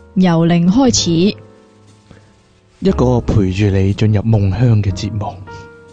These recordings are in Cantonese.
由零開始， 一個陪住你進入夢鄉嘅節目。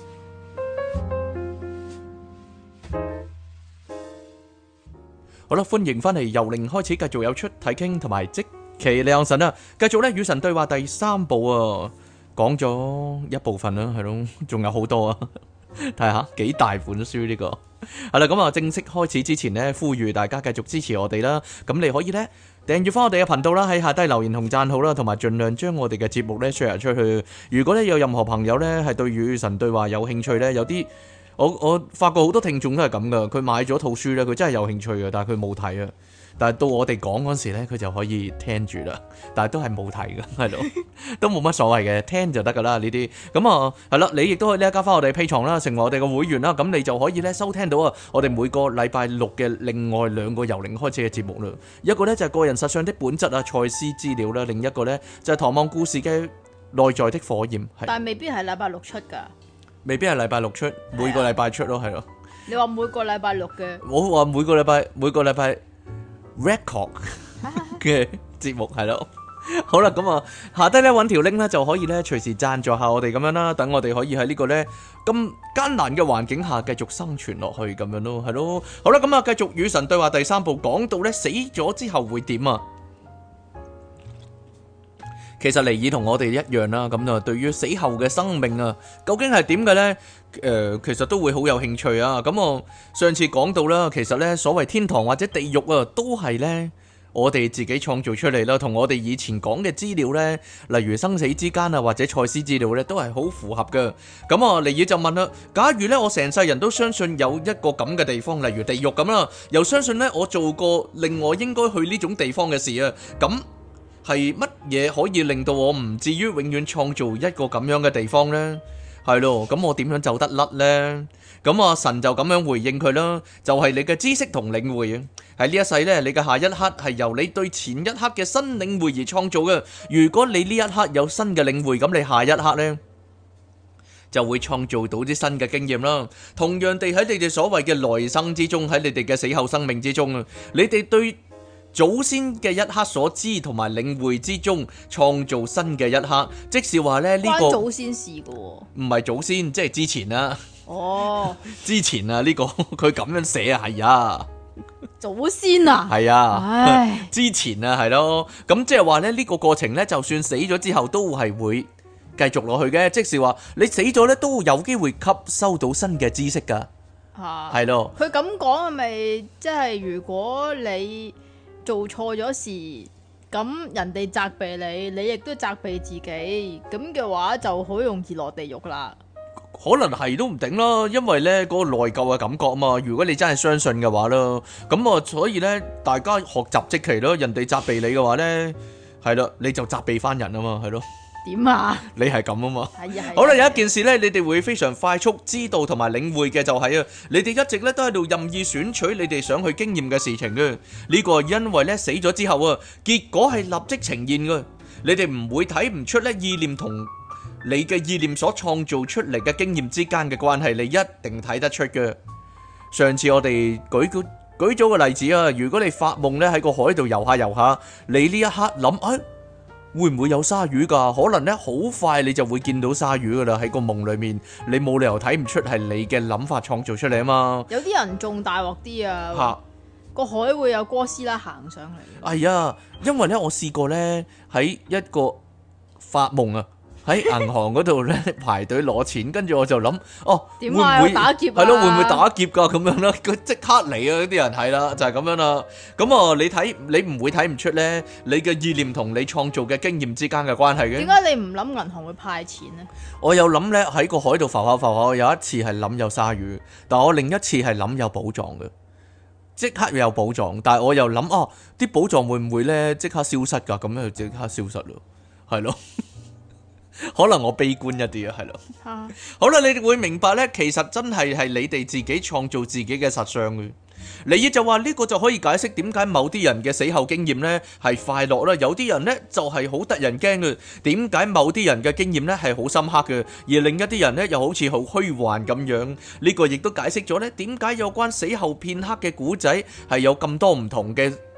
好啦，歡迎翻嚟由零開始，繼續有出體傾同埋即其兩神啊！繼續咧與神對話第三部啊，講咗一部分啦，係咯，仲有好多啊！睇下幾大本書呢個係啦，咁啊正式開始之前呢，呼籲大家繼續支持我哋啦。咁你可以呢訂閱翻我哋嘅頻道啦，喺下低留言同讚好啦，同埋盡量將我哋嘅節目呢 share 出去。如果呢有任何朋友呢係對與神對話有興趣呢，有啲我發覺好多聽眾都係咁噶，佢買咗套書呢，佢真係有興趣嘅，但係佢冇睇啊。但係到我哋講嗰時咧，佢就可以聽住啦。但係都係冇睇嘅，係咯，都冇乜所謂嘅，聽就得噶啦呢啲。咁啊，係啦，你亦都可以呢加翻我哋 Patreon啦，成為我哋嘅會員啦。咁你就可以咧收聽到啊，我哋每個禮拜六嘅另外兩個由零開始嘅節目啦。一個咧就係個人實相的本質啊，賽斯資料啦；另一個咧就係唐望故事嘅內在的火焰。 但係未必係禮拜六出㗎， 未必係禮拜六出，每個禮拜出咯，係咯。 你話每個禮拜六嘅， 我話每個禮拜。record 嘅節目係咯，好啦，咁啊下低咧揾條 link 咧就可以咧隨時贊助下我哋咁樣啦，等我哋可以喺呢個咧咁艱難嘅環境下繼續生存落去咁樣咯，係咯，好啦，咁啊繼續與神對話第三部，講到咧死咗之後會點啊？其實尼爾同我哋一樣啦，咁啊對於死後嘅生命啊，究竟係點嘅呢？其實都會好有興趣啊！咁我上次講到啦，其實呢所謂天堂或者地獄啊，都係呢我哋自己創造出嚟啦，同我哋以前講嘅資料呢，例如生死之間啊或者賽斯資料呢，都係好符合嘅。咁啊，尼爾就問啦：假如呢我成世人都相信有一個咁嘅地方，例如地獄咁啦，又相信呢我做過令我應該去呢種地方嘅事啊，咁係乜嘢可以令到我唔至於永遠創造一個咁樣嘅地方呢？係咯，咁我點樣走得甩呢？咁啊，神就咁樣回應佢啦，就係你嘅知識同領會啊。喺呢一世呢，你嘅下一刻係由你對前一刻嘅新領會而創造嘅。如果你呢一刻有新嘅領會，咁你下一刻呢就會創造到啲新嘅經驗啦。同樣地喺你哋所謂嘅來生之中，喺你哋嘅死後生命之中啊，你哋對祖先嘅一刻所知同埋領會之中創造新嘅一刻，即是話咧呢個關祖先事嘅喎， 唔係祖先，即係之前啦。 哦， 之前啊呢個佢咁樣寫啊，係啊， 祖先啊， 係啊， 唉， 之前啊係咯，咁即係話咧呢個過程咧，就算死咗之後都係會繼續落去嘅，即是話你死咗咧都有機會吸收到新嘅知識噶，係咯。 佢咁講係咪即係如果你做錯咗事，咁人哋責備你，你亦都責備自己，咁嘅話就好容易落地獄啦。 可能係都唔定啦，因為呢嗰個內疚嘅感覺啊嘛。如果你真係相信嘅話啦，咁啊，所以呢，大家學習即期咯。人哋責備你嘅話呢，係啦，你就責備翻人啊嘛，係咯。 點啊？ 你係咁啊嘛。 係啊。 好啦，有一件事呢，你哋會非常快速知道同埋領會嘅就係啊，你哋一直呢都喺度任意選取你哋想去經驗嘅事情嘅。呢個係因為呢死咗之後啊，結果係立即呈現嘅。你哋唔會睇唔出呢意念同你嘅意念所創造出嚟嘅經驗之間嘅關係，你一定睇得出嘅。上次我哋舉咗個例子啊，如果你發夢呢喺個海度游下游下，你呢一刻諗會唔會有鯊魚噶？可能呢好快你就會見到鯊魚噶啦，喺個夢裏面，你冇理由睇唔出係你嘅諗法創造出嚟啊嘛。 有啲人仲大鑊啲啊，個海會有哥斯拉行上嚟。 係啊，因為呢我試過呢喺一個發夢啊。喺銀行嗰度咧排隊攞錢，跟住我就諗， 點啊？會唔會打劫啊？ 係咯，會唔會打劫噶咁樣啦？佢即刻嚟啊！啲人係啦，就係咁樣啦。咁啊，你唔會睇唔出咧，你嘅意念同你創造嘅經驗之間嘅關係嘅。 點解你唔諗銀行會派錢呢？ 我有諗咧喺個海度浮下浮下，有一次係諗有鯊魚，但我另一次係諗有寶藏嘅，即刻有寶藏。但係我又諗，啲寶藏會唔會咧即刻消失噶？咁樣就即刻消失咯，係咯。可能我悲觀一啲啊，係咯。好啦，你哋會明白呢，其實真係你哋自己創造自己嘅實相嘅。尼爾就話呢個就可以解釋點解某啲人嘅死後經驗呢係快樂啦，有啲人呢就係好得人驚嘅。點解某啲人嘅經驗呢係好深刻嘅，而另一啲人呢又好似好虛幻咁樣？呢個亦都解釋咗呢點解有關死後片刻嘅古仔係有咁多唔同嘅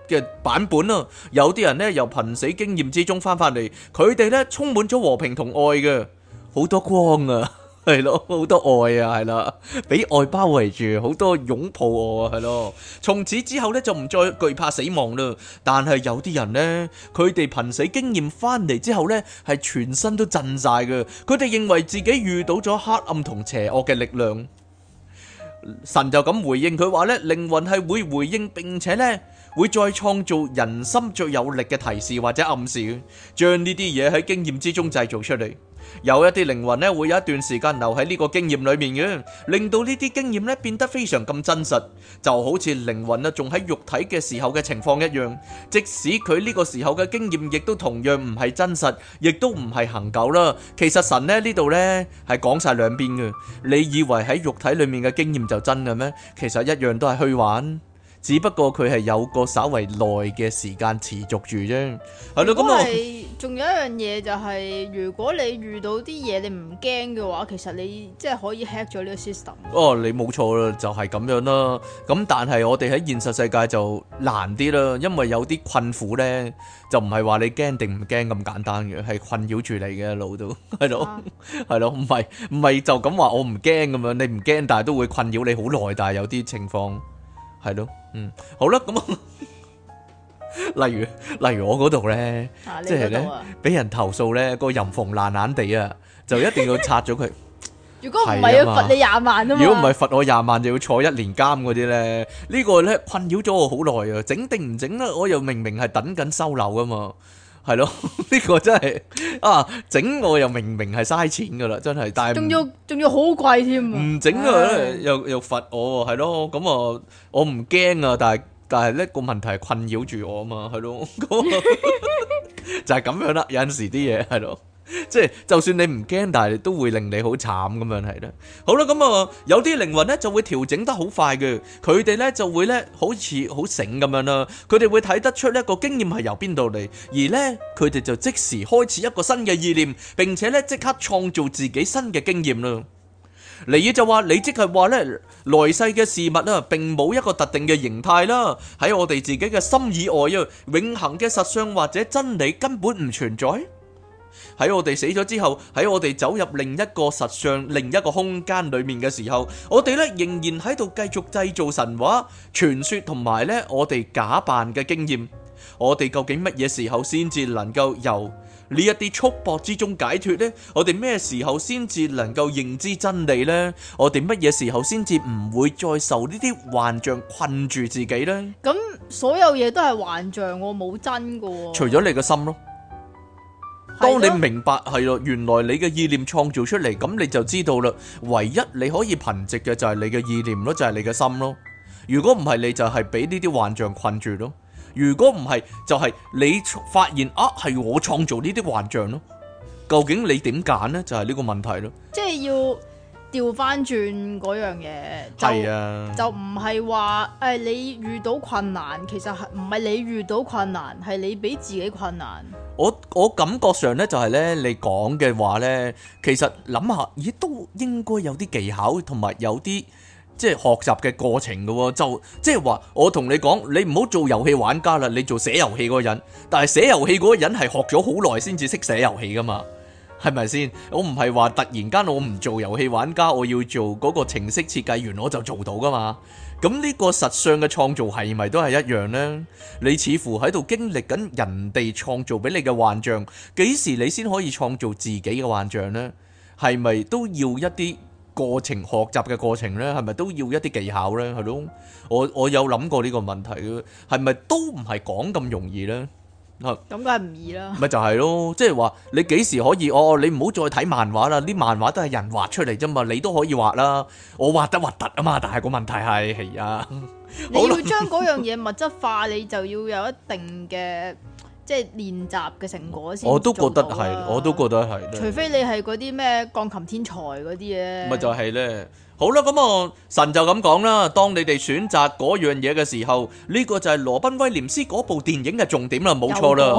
嘅版本啊，有啲人呢由瀕死經驗之中翻返嚟，佢哋呢充滿咗和平同愛嘅，好多光啊！係咯，好多愛啊，係啦，俾愛包圍住，好多擁抱我啊，係咯。從此之後咧就唔再懼怕死亡啦。但係有啲人呢，佢哋瀕死經驗翻嚟之後呢，係全身都震晒嘅。佢哋認為自己遇到咗黑暗同邪惡嘅力量。神就咁回應佢話呢，靈魂係會回應，並且呢會再創造人心最有力嘅提示或者暗示，將呢啲嘢喺經驗之中製造出嚟。有一啲靈魂咧會有一段時間留喺呢個經驗裏面嘅，令到呢啲經驗咧變得非常咁真實，就好似靈魂啊仲喺肉體嘅時候嘅情況一樣。即使佢呢個時候嘅經驗亦都同樣唔係真實，亦都唔係恆久啦。其實神咧呢度咧係講晒兩邊嘅。你以為喺肉體裏面嘅經驗就真嘅咩？其實一樣都係虛幻。只不過佢係有個稍為耐嘅時間持續住啫，係咯。咁係仲有一樣嘢就係，如果你遇到啲嘢你唔驚嘅話，其實你即係可以 hack 咗呢個 system。哦， 你冇錯啦，就係咁樣啦。咁但係我哋喺現實世界就難啲啦，因為有啲困苦咧，就唔係話你驚定唔驚咁簡單嘅，係困擾住你嘅腦度，係咯，係咯，唔係就咁話我唔驚咁樣，你唔驚，但係都會困擾你好耐，但係有啲情況。係咯，好啦，咁例如我嗰度咧，即係咧俾人投訴咧個淫縫爛爛地啊，就一定要拆咗佢。 如果唔係要罰你20萬啊嘛， 如果唔係罰我20萬就要坐1年監嗰啲咧，呢個咧困擾咗我好耐啊，整定唔整咧，我又明明係等緊收樓噶嘛。係咯，呢個真係整我又明明係嘥錢噶啦，真係，但係仲要好貴添， 唔整啊，又罰我，係咯，咁啊，我唔驚啊，但係呢個問題係困擾住我啊嘛，係咯，就係咁樣啦，有陣時啲嘢係咯。即係就算你唔驚，但係都會令你好慘咁樣係啦。好啦，咁啊有啲靈魂咧就會調整得好快嘅，佢哋咧就會咧好似好醒咁樣啦。佢哋會睇得出呢個經驗係由邊度嚟，而咧佢哋就即時開始一個新嘅意念，並且咧即刻創造自己新嘅經驗啦。尼爾就話：你即係話咧來世嘅事物啊，並冇一個特定嘅形態啦，喺我哋自己嘅心以外啊，永恆嘅實相或者真理根本唔存在。喺我哋死咗之後，喺我哋走入另一個實相、另一個空間裏面嘅時候，我哋咧仍然喺度繼續製造神話、傳說同埋咧我哋假扮嘅經驗。我哋究竟乜嘢時候先至能夠由呢一啲束縛之中解脫呢？我哋咩時候先至能夠認知真理呢？我哋乜嘢時候先至唔會再受呢啲幻象困住自己呢？ 咁所有嘢都係幻象，我冇真噶。 除咗你嘅心咯。當你明白係咯，原來你嘅意念創造出嚟，咁你就知道啦。唯一你可以憑藉嘅就係你嘅意念咯，就係你嘅心咯。如果唔係，你就係俾呢啲幻象困住咯。如果唔係，就係你發現係我創造呢啲幻象咯。究竟你點揀呢？就係呢個問題咯。 即係要調翻轉嗰樣嘢， 係啊， 就唔係話你遇到困難，其實係唔係你遇到困難，係你俾自己困難。 我感覺上咧就係咧，你講嘅話咧，其實諗下，咦都應該有啲技巧同埋有啲即係學習嘅過程嘅喎。就即係話，我同你講，你唔好做遊戲玩家啦，你做寫遊戲嗰個人。但係寫遊戲嗰個人係學咗好耐先至識寫遊戲噶嘛，係咪先？我唔係話突然間我唔做遊戲玩家，我要做嗰個程式設計員我就做到噶嘛。咁呢個實相嘅創造係咪都係一樣呢？你似乎喺度經歷緊人哋創造俾你嘅幻象，幾時你先可以創造自己嘅幻象呢？係咪都要一啲過程，學習嘅過程呢？係咪都要一啲技巧呢？係咯，我有諗過呢個問題嘅，係咪都唔係講咁容易呢？咁梗係唔易啦。 咪就係咯，即係話你幾時可以？你唔好再睇漫畫啦，啲漫畫都係人畫出嚟啫嘛，你都可以畫啦。我畫得核突啊嘛，但係個問題係啊， 你要將嗰樣嘢物質化，你就要有一定嘅即係練習嘅成果先。 我都覺得係，我都覺得係。 除非你係嗰啲咩鋼琴天才嗰啲嘢。 咪就係咧。好啦，咁神就咁講啦。當你哋選擇嗰樣嘢嘅時候，呢個就係羅賓威廉斯嗰部電影嘅重點啦，冇錯啦。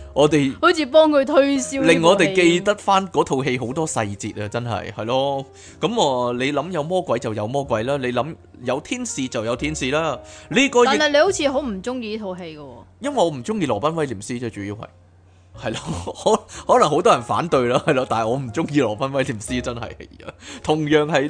我哋好似幫佢推銷， 令我哋記得翻嗰套戲好多細節啊，真係咯。咁你諗有魔鬼就有魔鬼啦，你諗有天使就有天使啦。呢個但係你好似好唔中意呢套戲嘅喎。 因為我唔中意羅賓威廉斯啫，主要係咯，可能好多人反對啦，係咯，但係我唔中意羅賓威廉斯真係，同樣係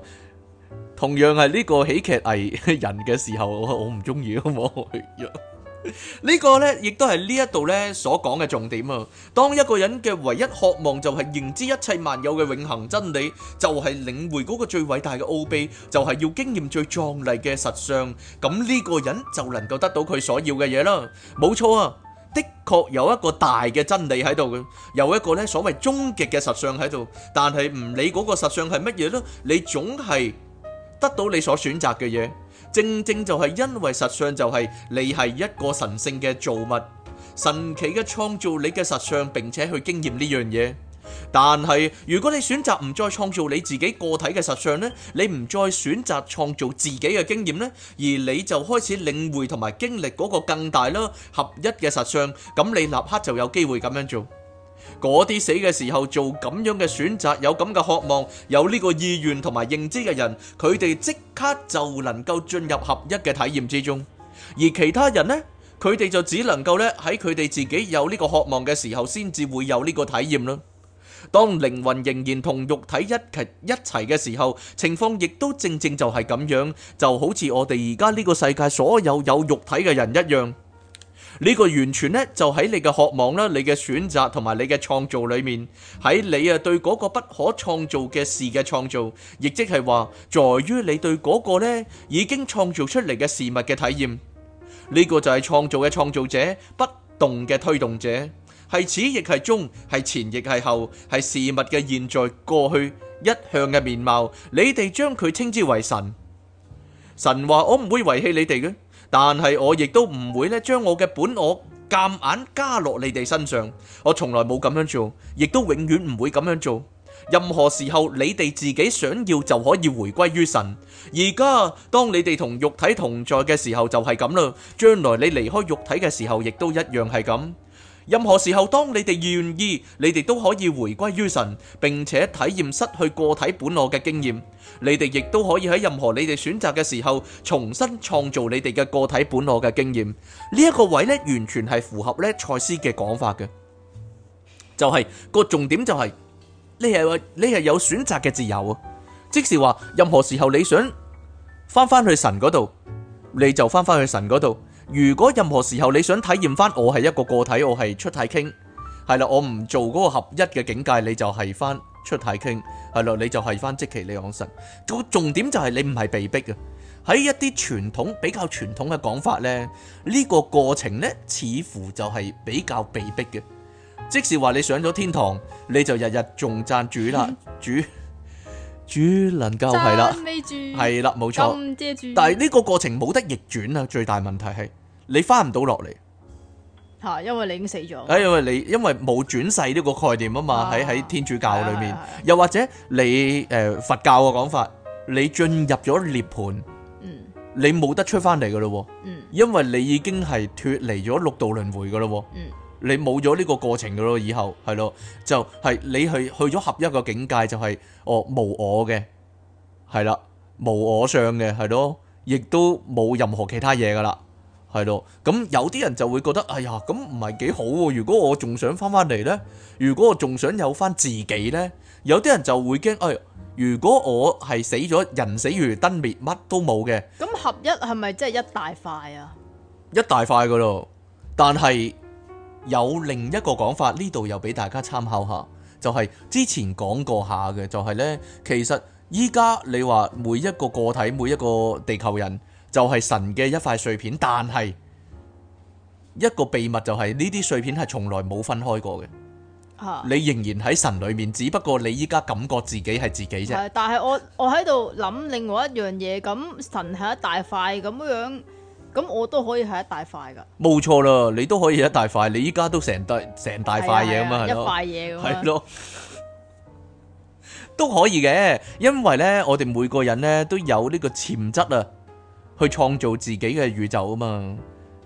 呢個喜劇藝人嘅時候，我唔中意啊嘛。呢個呢，亦都係呢一度呢所講嘅重點啊！當一個人嘅唯一渴望就係認知一切萬有嘅永恆真理，就係領會嗰個最偉大嘅奧秘，就係要經驗最壯麗嘅實相，咁呢個人就能夠得到佢所要嘅嘢啦。冇錯啊，的確有一個大嘅真理喺度嘅，有一個呢所謂終極嘅實相喺度，但係唔理嗰個實相係乜嘢咯，你總係得到你所選擇嘅嘢。正正就係因為實相就係你係一個神聖嘅造物，神奇嘅創造你嘅實相，並且去經驗呢樣嘢。但係如果你選擇唔再創造你自己個體嘅實相呢，你唔再選擇創造自己嘅經驗呢，而你就開始領會同埋經歷嗰個更大啦合一嘅實相，咁你立刻就有機會咁樣做。嗰啲死嘅時候做咁樣嘅選擇，有咁嘅渴望，有呢個意願同埋認知嘅人，佢哋即刻就能夠進入合一嘅體驗之中。而其他人呢，佢哋就只能夠咧喺佢哋自己有呢個渴望嘅時候，先至會有呢個體驗啦。當靈魂仍然同肉體一齊嘅時候，情況亦都正正就係咁樣，就好似我哋而家呢個世界所有肉體嘅人一樣。呢個完全呢，就喺你嘅渴望啦、你嘅選擇同埋你嘅創造裏面，喺你對嗰個不可創造嘅事嘅創造，亦即係話，在於你對嗰個呢已經創造出嚟嘅事物嘅體驗。呢個就係創造嘅創造者，不動嘅推動者，係始亦係終，係前亦係後，係事物嘅現在、過去一向嘅面貌。你哋將佢稱之為神。神話我唔會遺棄你哋嘅。但係我亦都唔會咧將我嘅本我夾硬加落你哋身上，我從來冇咁樣做，亦都永遠唔會咁樣做。任何時候你哋自己想要就可以回歸於神。而家當你哋同肉體同在嘅時候就係咁啦，將來你離開肉體嘅時候亦都一樣係咁。任何時候當你哋願意，你哋都可以回歸於神，並且體驗失去個體本我嘅經驗。你哋亦都可以喺任何你哋選擇嘅時候，重新創造你哋嘅個體本我嘅經驗。呢一個位呢，完全係符合呢賽斯嘅講法嘅，就係個重點就係你係有選擇嘅自由啊！即是話任何時候你想翻去神嗰度，你就翻去神嗰度。如果任何時候你想體驗翻我係一個個體，我係出體傾，係啦，我唔做嗰個合一嘅境界，你就係翻出體傾，係咯，你就係翻即其利昂神。個重點就係你唔係被逼嘅。喺一啲比較傳統嘅講法呢，呢個過程呢，似乎就係比較被逼嘅。即是話你上咗天堂，你就日日仲讚主啦，主能夠係啦，係啦，冇錯。但係呢個過程冇得逆轉啊！最大問題係你翻唔到落嚟吓，因為你已經死咗。 因為冇轉世呢個概念啊嘛，喺天主教裏面，又或者你佛教嘅講法，你進入咗涅槃，你冇得出翻嚟噶咯，因為你已經係脫離咗六道輪迴噶咯。你冇咗呢個過程噶咯，以後係咯，就係你去咗合一個境界，就係無我嘅，係啦，無我相嘅，係咯，亦都冇任何其他嘢噶啦，係咯。咁有啲人就會覺得，哎呀，咁唔係幾好喎。如果我仲想翻嚟呢，如果我仲想有翻自己呢，有啲人就會驚，哎，如果我係死咗，人死如燈滅，乜都冇嘅。 咁合一係咪真係一大塊啊？ 一大塊噶咯，但係有另一個講法，呢度又俾大家參考下，就係之前講過下嘅，就係呢，其實依家你話每一個個體，每一個地球人就係神嘅一塊碎片，但係一個秘密就係呢啲碎片係從來冇分開過嘅。你仍然喺神裏面，只不過你依家感覺自己係自己啫。 但係我喺度諗另外一樣嘢，咁神係一大塊咁樣。咁我都可以係一大塊噶，冇錯啦，你都可以一大塊，你依家都成大塊嘢咁嘛， 一塊嘢咁， 係咯，都可以嘅，因為呢，我哋每個人呢都有呢個潛質啊，去創造自己嘅宇宙啊嘛，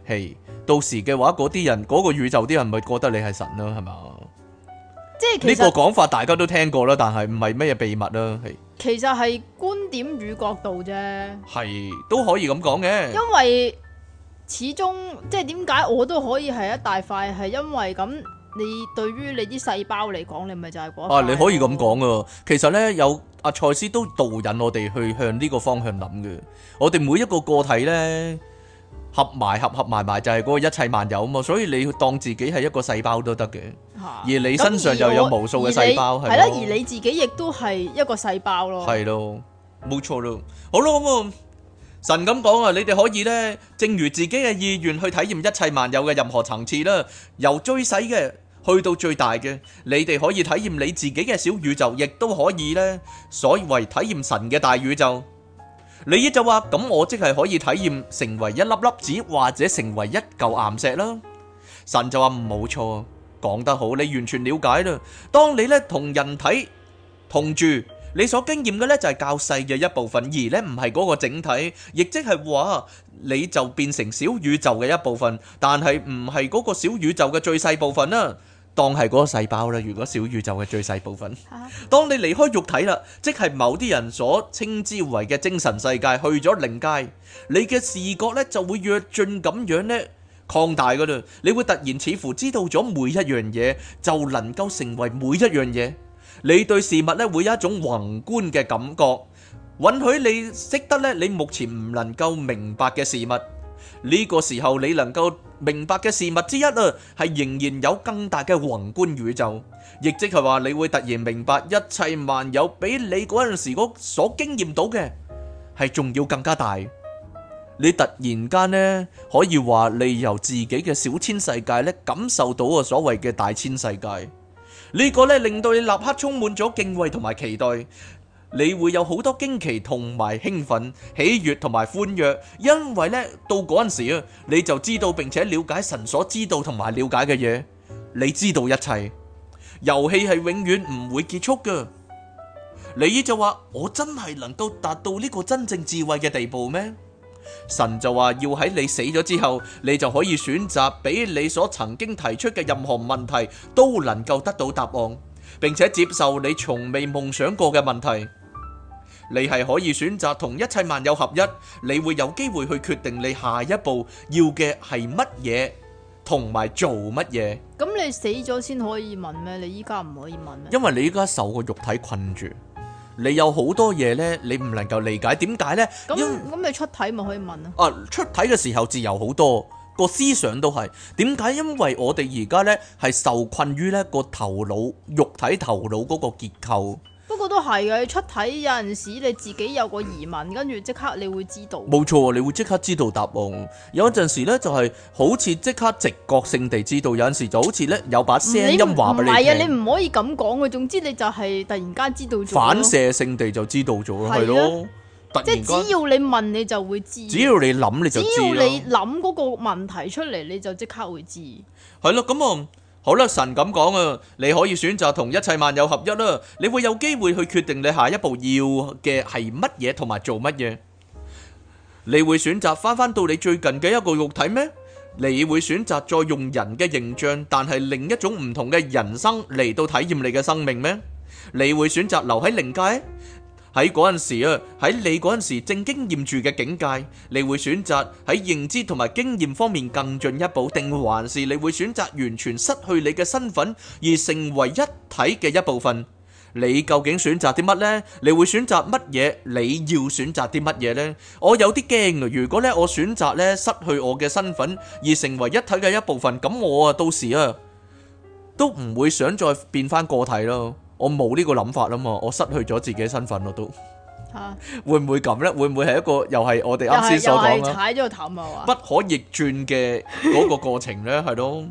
係到時嘅話，嗰啲人嗰個宇宙啲人咪覺得你係神咯，係嘛？呢即係其實個講法大家都聽過啦，但係唔係咩秘密啦， 其實係觀點與角度啫。 係都可以咁講嘅。 因為始終即係點解我都可以係一大塊，係因為咁你對於你啲細胞嚟講，你咪就係嗰一塊啊，你可以咁講噶。其實呢，有阿賽斯都導引我哋去向呢個方向諗嘅。我哋每一個個體呢，合埋就係嗰個一切萬有啊嘛。所以你當自己係一個細胞都得嘅。而你身上就有無數嘅細胞，係啦，而你自己亦都係一個細胞咯。 係咯，冇錯咯。好咯，咁啊，神咁講啊，你哋可以呢，正如自己嘅意願去體驗一切萬有嘅任何層次啦，由最細嘅去到最大嘅，你哋可以體驗你自己嘅小宇宙，亦都可以呢，所謂體驗神嘅大宇宙。你就話咁，我即係可以體驗成為一粒粒子，或者成為一嚿岩石啦。神就話冇錯。講得好，你完全了解啦。當你咧同人體同住，你所經驗嘅咧就係較細嘅一部分，而咧唔係嗰個整體，亦即係話你就變成小宇宙嘅一部分，但係唔係嗰個小宇宙嘅最細部分啦。當係嗰個細胞啦，如果小宇宙嘅最細部分。當你離開肉體啦，即係某啲人所稱之為嘅精神世界，去咗靈界，你嘅視覺咧就會躍進咁樣咧擴大噶啦，你會突然似乎知道咗每一樣嘢，就能夠成為每一樣嘢。你對事物咧會有一種宏觀嘅感覺，允許你識得咧你目前唔能夠明白嘅事物。呢個時候你能夠明白嘅事物之一啊，係仍然有更大嘅宏觀宇宙，亦即係話你會突然明白一切萬有比你嗰陣時所經驗到嘅係仲要更加大。你突然間呢，可以話你由自己嘅小千世界呢感受到啊所謂嘅大千世界，呢個呢令到你立刻充滿咗敬畏同埋期待，你會有好多驚奇同埋興奮、喜悅同埋歡躍，因為呢到嗰陣時啊，你就知道並且了解神所知道同埋了解嘅嘢，你知道一切，遊戲係永遠唔會結束㗎。你就話我真係能夠達到呢個真正智慧嘅地步咩？神就話要喺你死咗之後，你就可以選擇比你所曾經提出嘅任何問題都能夠得到答案，並且接受你從未夢想過嘅問題。你係可以選擇同一切萬有合一，你會有機會去決定你下一步要嘅係乜嘢，同埋做乜嘢。 咁你死咗先可以問咩？你依家唔可以問咩？ 因為你依家受個肉體困住。你有好多嘢呢，你唔能夠理解，點解呢？ 咁你出體咪可以問啊？出體嘅時候自由好多，個思想都係點解？因為我哋而家呢係受困於呢個頭腦、肉體頭腦嗰個結構。 不過都係嘅，出體有陣時你自己有個疑問，跟住即刻你會知道。 冇錯，你會即刻知道答案。有陣時呢就係好似即刻直覺性地知道，有陣時就好似呢有把聲音話俾你聽。唔係啊， 你唔可以咁講嘅。總之你就係突然間知道咗。 反射性地就知道咗咯，係咯。 即係只要你問你就會知。 只要你諗你就知。 只要你諗嗰個問題出嚟，你就即刻會知。 係咯，咁啊。好啦，神咁講啊，你可以選擇同一切萬有合一啦，你會有機會去決定你下一步要嘅係乜嘢同埋做乜嘢。你會選擇翻到你最近嘅一個肉體咩？你會選擇再用人嘅形象，但係另一種唔同嘅人生嚟到體驗你嘅生命咩？你會選擇留喺靈界？喺嗰陣時啊，喺你嗰陣時正經驗住嘅境界，你會選擇喺認知同埋經驗方面更進一步，定還是你會選擇完全失去你嘅身份而成為一體嘅一部分？你究竟選擇啲乜呢？你會選擇乜嘢？你要選擇啲乜嘢呢？我有啲驚啊！如果咧我選擇咧失去我嘅身份而成為一體嘅一部分，咁我啊到時啊都唔會想再變翻個體咯。我冇呢個諗法啦嘛，我失去咗自己身份咯都。嚇，會唔會咁呢？會唔會係一個又係我哋啱先所講啦？ 踩咗個氹啊！ 不可逆轉嘅嗰個過程呢，係咯。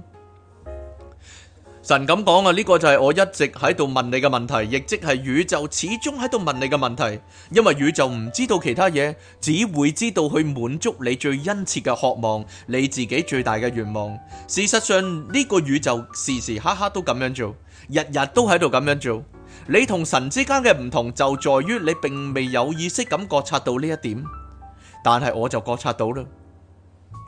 神咁講啊，呢個就係我一直喺度問你嘅問題，亦即係宇宙始終喺度問你嘅問題，因為宇宙唔知道其他嘢，只會知道去滿足你最殷切嘅渴望，你自己最大嘅願望。事實上呢個宇宙時時刻刻都咁樣做，日日都喺度咁樣做。你同神之間嘅唔同就在於你並未有意識咁覺察到呢一點，但係我就覺察到啦。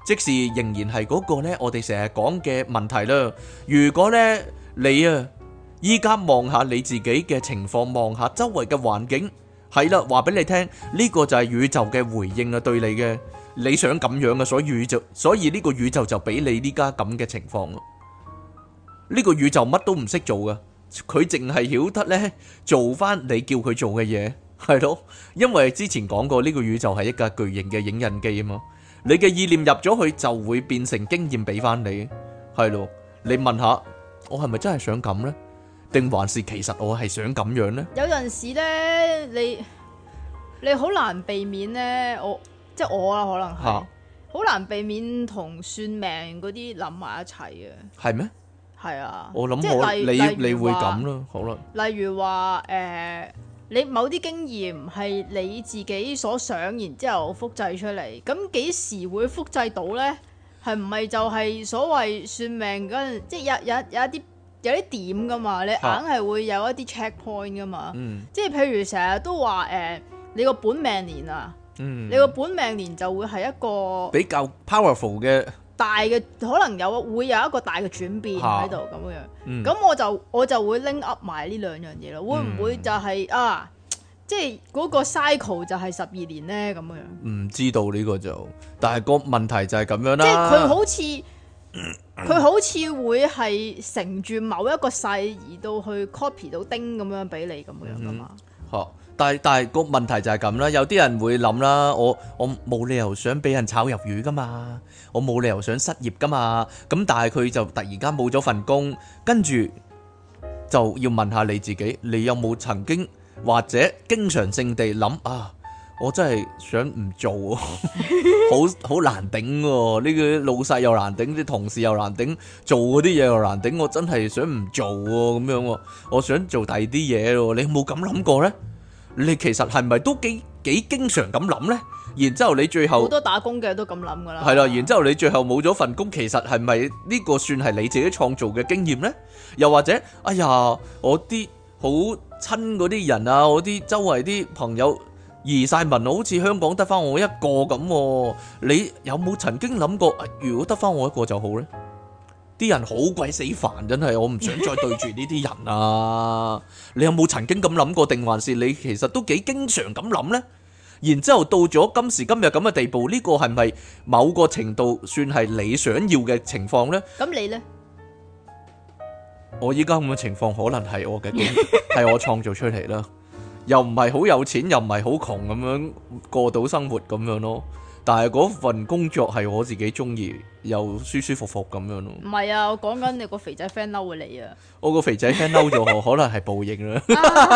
即是仍然係嗰個呢，我哋成日講嘅問題啦。如果呢，你啊依家望下你自己嘅情況，望下周圍嘅環境，係啦，話俾你聽，呢個就係宇宙嘅回應啊，對你嘅，你想咁樣嘅，所以呢個宇宙就俾你呢家咁嘅情況咯。呢個宇宙乜都唔識做噶，佢淨係曉得呢做翻你叫佢做嘅嘢，係咯。因為之前講過呢個宇宙係一架巨型嘅影印機啊嘛。你嘅意念入咗去就會變成經驗俾翻你，係咯。你問下我係咪真係想咁呢？定還是其實我係想咁樣呢？ 有陣時咧，你好難避免咧，即係我啦，可能係好難避免同算命嗰啲諗埋一齊嘅。係咩？ 係啊， 我諗你會咁咯，好啦。 例如話你某啲經驗係你自己所想，然之後複製出嚟，咁幾時會複製到呢？係唔係就係所謂算命嗰陣，即係有啲點噶嘛？你硬係會有一啲 check point 噶嘛？即係譬如成日都話你個本命年啊，你個本命年就會係一個比較 powerful 嘅大嘅，可能會有一個大嘅轉變喺度咁樣。咁我就會拎 up 埋呢兩樣嘢咯。會唔會就係即係嗰個 cycle 就係12年呢？咁樣？唔知道呢個就，但係個問題就係咁樣啦。 即係佢好似會係乘住某一個勢而到去 copy 到丁咁樣俾你咁樣噶嘛？ 但係個問題就係咁啦。有啲人會諗啦，我冇理由想俾人炒魷魚噶嘛，我冇理由想失業噶嘛。咁但係佢就突然間冇咗份工，跟住就要問下你自己，你有冇曾經或者經常性地諗我真係想唔做，好難頂喎！呢個老細又難頂，啲同事又難頂，做嗰啲嘢又難頂，我真係想唔做喎，咁樣喎，我想做第二啲嘢咯。你有冇咁諗過呢？你其實係咪都幾經常咁諗呢？然之後你最後好多打工嘅都咁諗噶啦。 係啦，然之後你最後冇咗份工，其實係咪呢個算係你自己創造嘅經驗呢？又或者，哎呀，我啲好親嗰啲人啊，我啲周圍啲朋友移晒民，好似香港得翻我一個咁。你有冇曾經諗過，如果得翻我一個就好呢？啲人好鬼死煩，真係，我唔想再對住呢啲人啊！你有冇曾經咁諗過，定還是你其實都幾經常咁諗呢？然之後到咗今時今日咁嘅地步，呢個係咪某個程度算係你想要嘅情況呢？ 咁你呢？ 我依家咁嘅情況可能係我嘅經驗，係我創造出嚟啦。又唔係好有錢，又唔係好窮咁樣過到生活咁樣咯。但係嗰份工作係我自己中意，又舒舒服服咁樣咯。 唔係啊，我講緊你個肥仔 friend 嬲你啊！ 我個肥仔 friend 嬲咗我，可能係報應啦。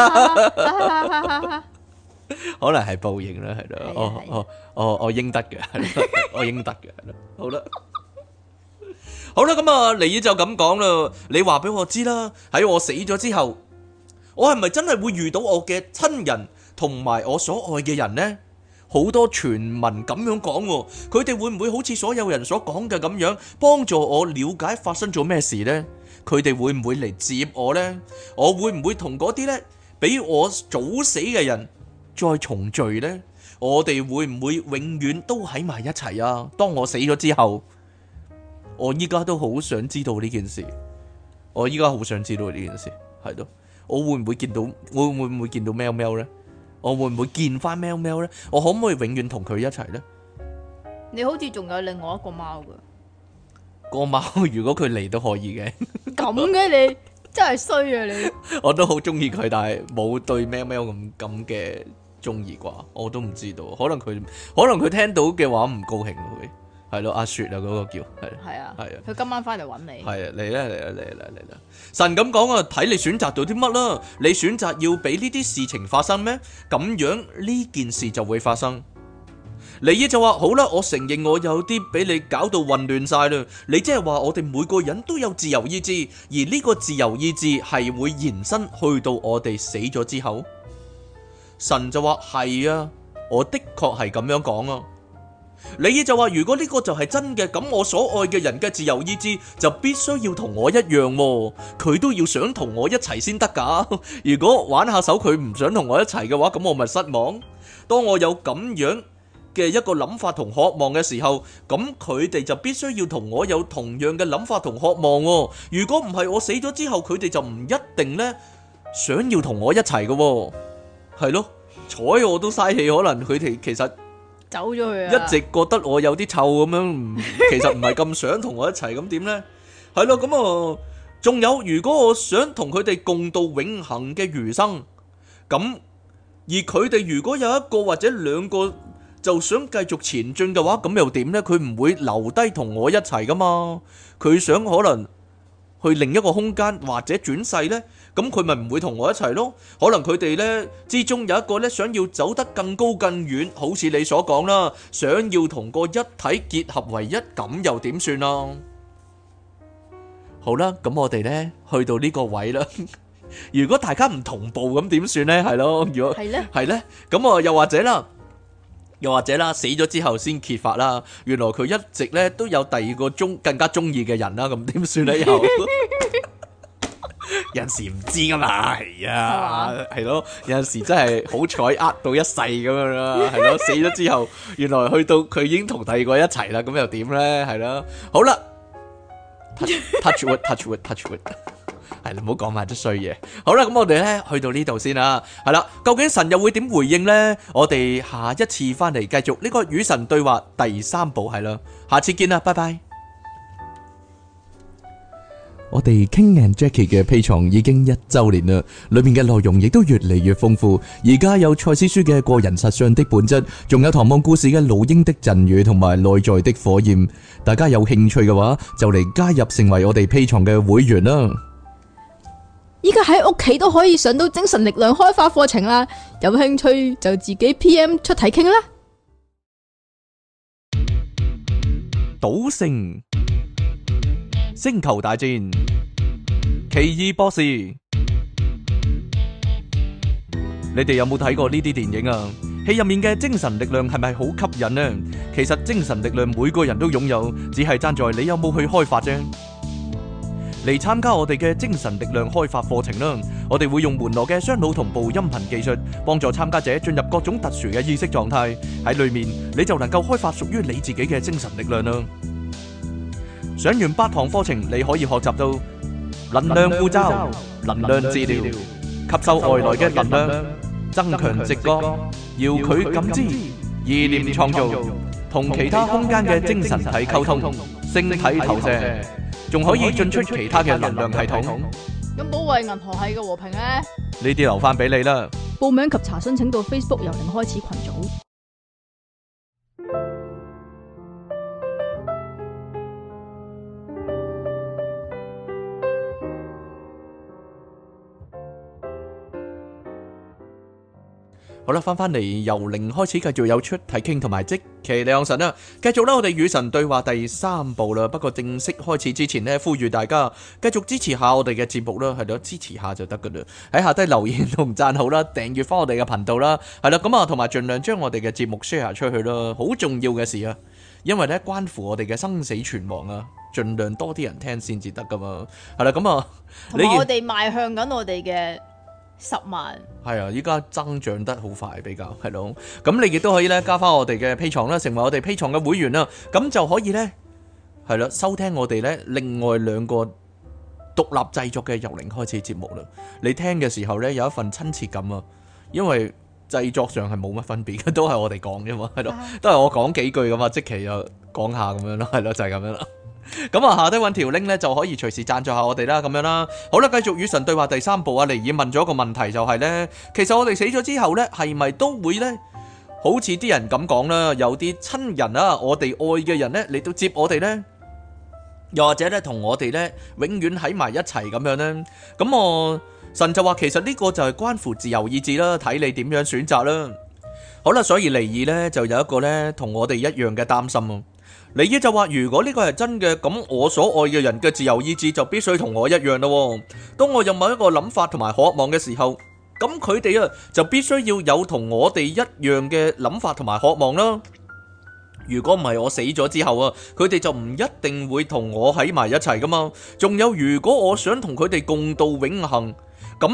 可能係報應啦，係咯。我應得嘅，係咯，我應得嘅，係咯。好啦，好啦，咁啊，尼爾就咁講啦。你話俾我知啦，喺我死咗之後，我係咪真係會遇到我嘅親人同埋我所愛嘅人呢？好多傳聞咁樣講，佢哋會唔會好似所有人所講嘅咁樣，幫助我了解發生咗咩事呢？佢哋會唔會嚟接我呢？我會唔會同嗰啲呢比我早死嘅人再重聚呢？我哋會唔會永遠都喺埋一齊啊？當我死咗之後，我依家都好想知道呢件事。我依家好想知道呢件事，係咯。我會唔會見到？我會唔會見到喵喵呢？我會唔會見翻喵喵呢？我可唔可以永遠同佢一齊呢？ 你好似仲有另外一個貓噶。 個貓如果佢嚟都可以嘅。 咁嘅你真係衰啊你！我都好中意佢，但係冇對喵喵咁嘅中意啩，我都唔知道。可能佢聽到嘅話唔高興佢。係咯，阿雪啊，嗰個叫係啊， 佢今晚翻嚟揾你。 係啊，嚟啦！神咁講啊，睇你選擇到啲乜啦。你選擇要俾呢啲事情發生咩？咁樣呢件事就會發生。尼爾就話好啦，我承認我有啲俾你搞到混亂晒啦。你即係話我哋每個人都有自由意志，而呢個自由意志係會延伸去到我哋死咗之後。神就話係啊，我的確係咁樣講啊。尼爾就話如果呢個就係真嘅，咁我所愛嘅人嘅自由意志就必須要同我一樣，佢都要想同我一齊先得噶。如果玩下手佢唔想同我一齊嘅話，咁我咪失望。當我有咁樣嘅一個諗法同渴望嘅時候，咁佢哋就必須要同我有同樣嘅諗法同渴望喎。如果唔係，我死咗之後，佢哋就唔一定呢想要同我一齊嘅喎。係咯，睬我都嘥氣，可能佢哋其實走咗去啊， 一直覺得我有啲臭咁樣，其實唔係咁想同我一齊，咁點呢？係咯，咁啊，仲有，如果我想同佢哋共度永恆嘅餘生，咁而佢哋如果有一個或者兩個就想繼續前進嘅話，咁又點呢？佢唔會留低同我一齊噶嘛？佢想可能去另一個空間或者轉世呢，咁佢咪唔會同我一齊咯？可能佢哋呢之中有一個呢想要走得更高更遠，好似你所講啦，想要同個一體結合為一，咁又點算啊？好啦，咁我哋呢去到呢個位啦。如果大家唔同步咁點算呢？係咯，如果係呢，咁啊又或者啦，死咗之後先揭發啦，原來佢一直呢都有第二個更加中意嘅人啦，咁點算呢？又有陣時唔知噶嘛，係啊，係咯，有陣時真係好彩呃到一世咁樣啦，係咯，死咗之後，原來去到佢已經同第二個一齊啦，咁又點呢？係咯，好啦。touch wood，係啦，唔好講埋啲衰嘢。好啦，咁我哋咧去到呢度先啦。係啦，究竟神又會點回應呢？我哋下一次翻嚟繼續呢個與神對話第3部係啦。下次見啦，拜拜。我哋 King and Jackie 嘅 Patreon 已經1周年啦，裏面嘅內容亦都越嚟越豐富。而家有賽斯書嘅個人實相的本質，仲有唐望故事嘅老鷹的贈語同埋內在的火焰。大家有興趣嘅話，就嚟加入成為我哋 Patreon 嘅會員啦。 依家喺屋企都可以上到精神力量開發課程啦，有興趣就自己 PM 出題傾啦。 賭聖、星球大戰、奇異博士，你哋有冇睇過呢啲電影啊？戲入面嘅精神力量係咪好吸引呢？其實精神力量每個人都擁有，只係爭在你有冇去開發啫。嚟參加我哋嘅精神力量開發課程啦！我哋會用門羅嘅雙腦同步音頻技術，幫助參加者進入各種特殊嘅意識狀態。喺裏面你就能夠開發屬於你自己嘅精神力量啦！上完8堂課程，你可以學習到能量護罩、能量治療、吸收外來嘅能量、增強直覺、遙距感知、意念創造、同其他空間嘅精神體溝通、星體投射，仲可以進出其他嘅能量系統。 咁保衛銀河系嘅和平呢？ 呢啲留翻俾你啦。 報名及查詢請到 Facebook 由零開始群組。 好啦，翻嚟由零開始，繼續有出體傾同埋即其兩神啦。繼續啦，我哋與神對話第3部啦。不過正式開始之前呢，呼籲大家繼續支持下我哋嘅節目啦，係咯，支持下就得噶啦。喺下低留言同讚好啦，訂閱翻我哋嘅頻道啦，係啦，咁啊，同埋盡量將我哋嘅節目 share 出去啦，好重要嘅事啊，因為咧關乎我哋嘅生死存亡啊，盡量多啲人聽先至得噶嘛。係啦，咁啊， 同埋我哋邁向緊我哋嘅10萬， 係啊！依家增長得好快，比較係咯。咁你亦都可以咧加翻我哋嘅 Patreon啦，成為我哋 Patreon嘅會員啦。咁就可以咧係啦，收聽我哋咧另外2個獨立製作嘅由零開始節目啦。你聽嘅時候咧有一份親切感啊，因為製作上係冇乜分別嘅，都係我哋講啫嘛，係咯，都係我講幾句噶嘛，即期又講下咁樣咯，係咯，就係咁樣啦。咁啊，下低揾條 link 咧就可以隨時贊助下我哋啦，咁樣啦。好啦，繼續與神對話第3部啊。尼爾問咗一個問題，就係咧，其實我哋死咗之後咧，係咪都會咧，好似啲人咁講啦，有啲親人啊，我哋愛嘅人咧嚟到接我哋咧，又或者咧同我哋咧永遠喺埋一齊咁樣咧？咁我神就話，其實呢個就係關乎自由意志啦，睇你點樣選擇啦。好啦，所以尼爾咧就有一個咧同我哋一樣嘅擔心啊。尼爾就話，如果呢個係真嘅，咁我所愛嘅人嘅自由意志就必須同我一樣咯。當我有某一個諗法同埋渴望嘅時候，咁佢哋啊就必須要有同我哋一樣嘅諗法同埋渴望啦。如果唔係，我死咗之後啊，佢哋就唔一定會同我喺埋一齊噶嘛。仲有，如果我想同佢哋共度永恆，咁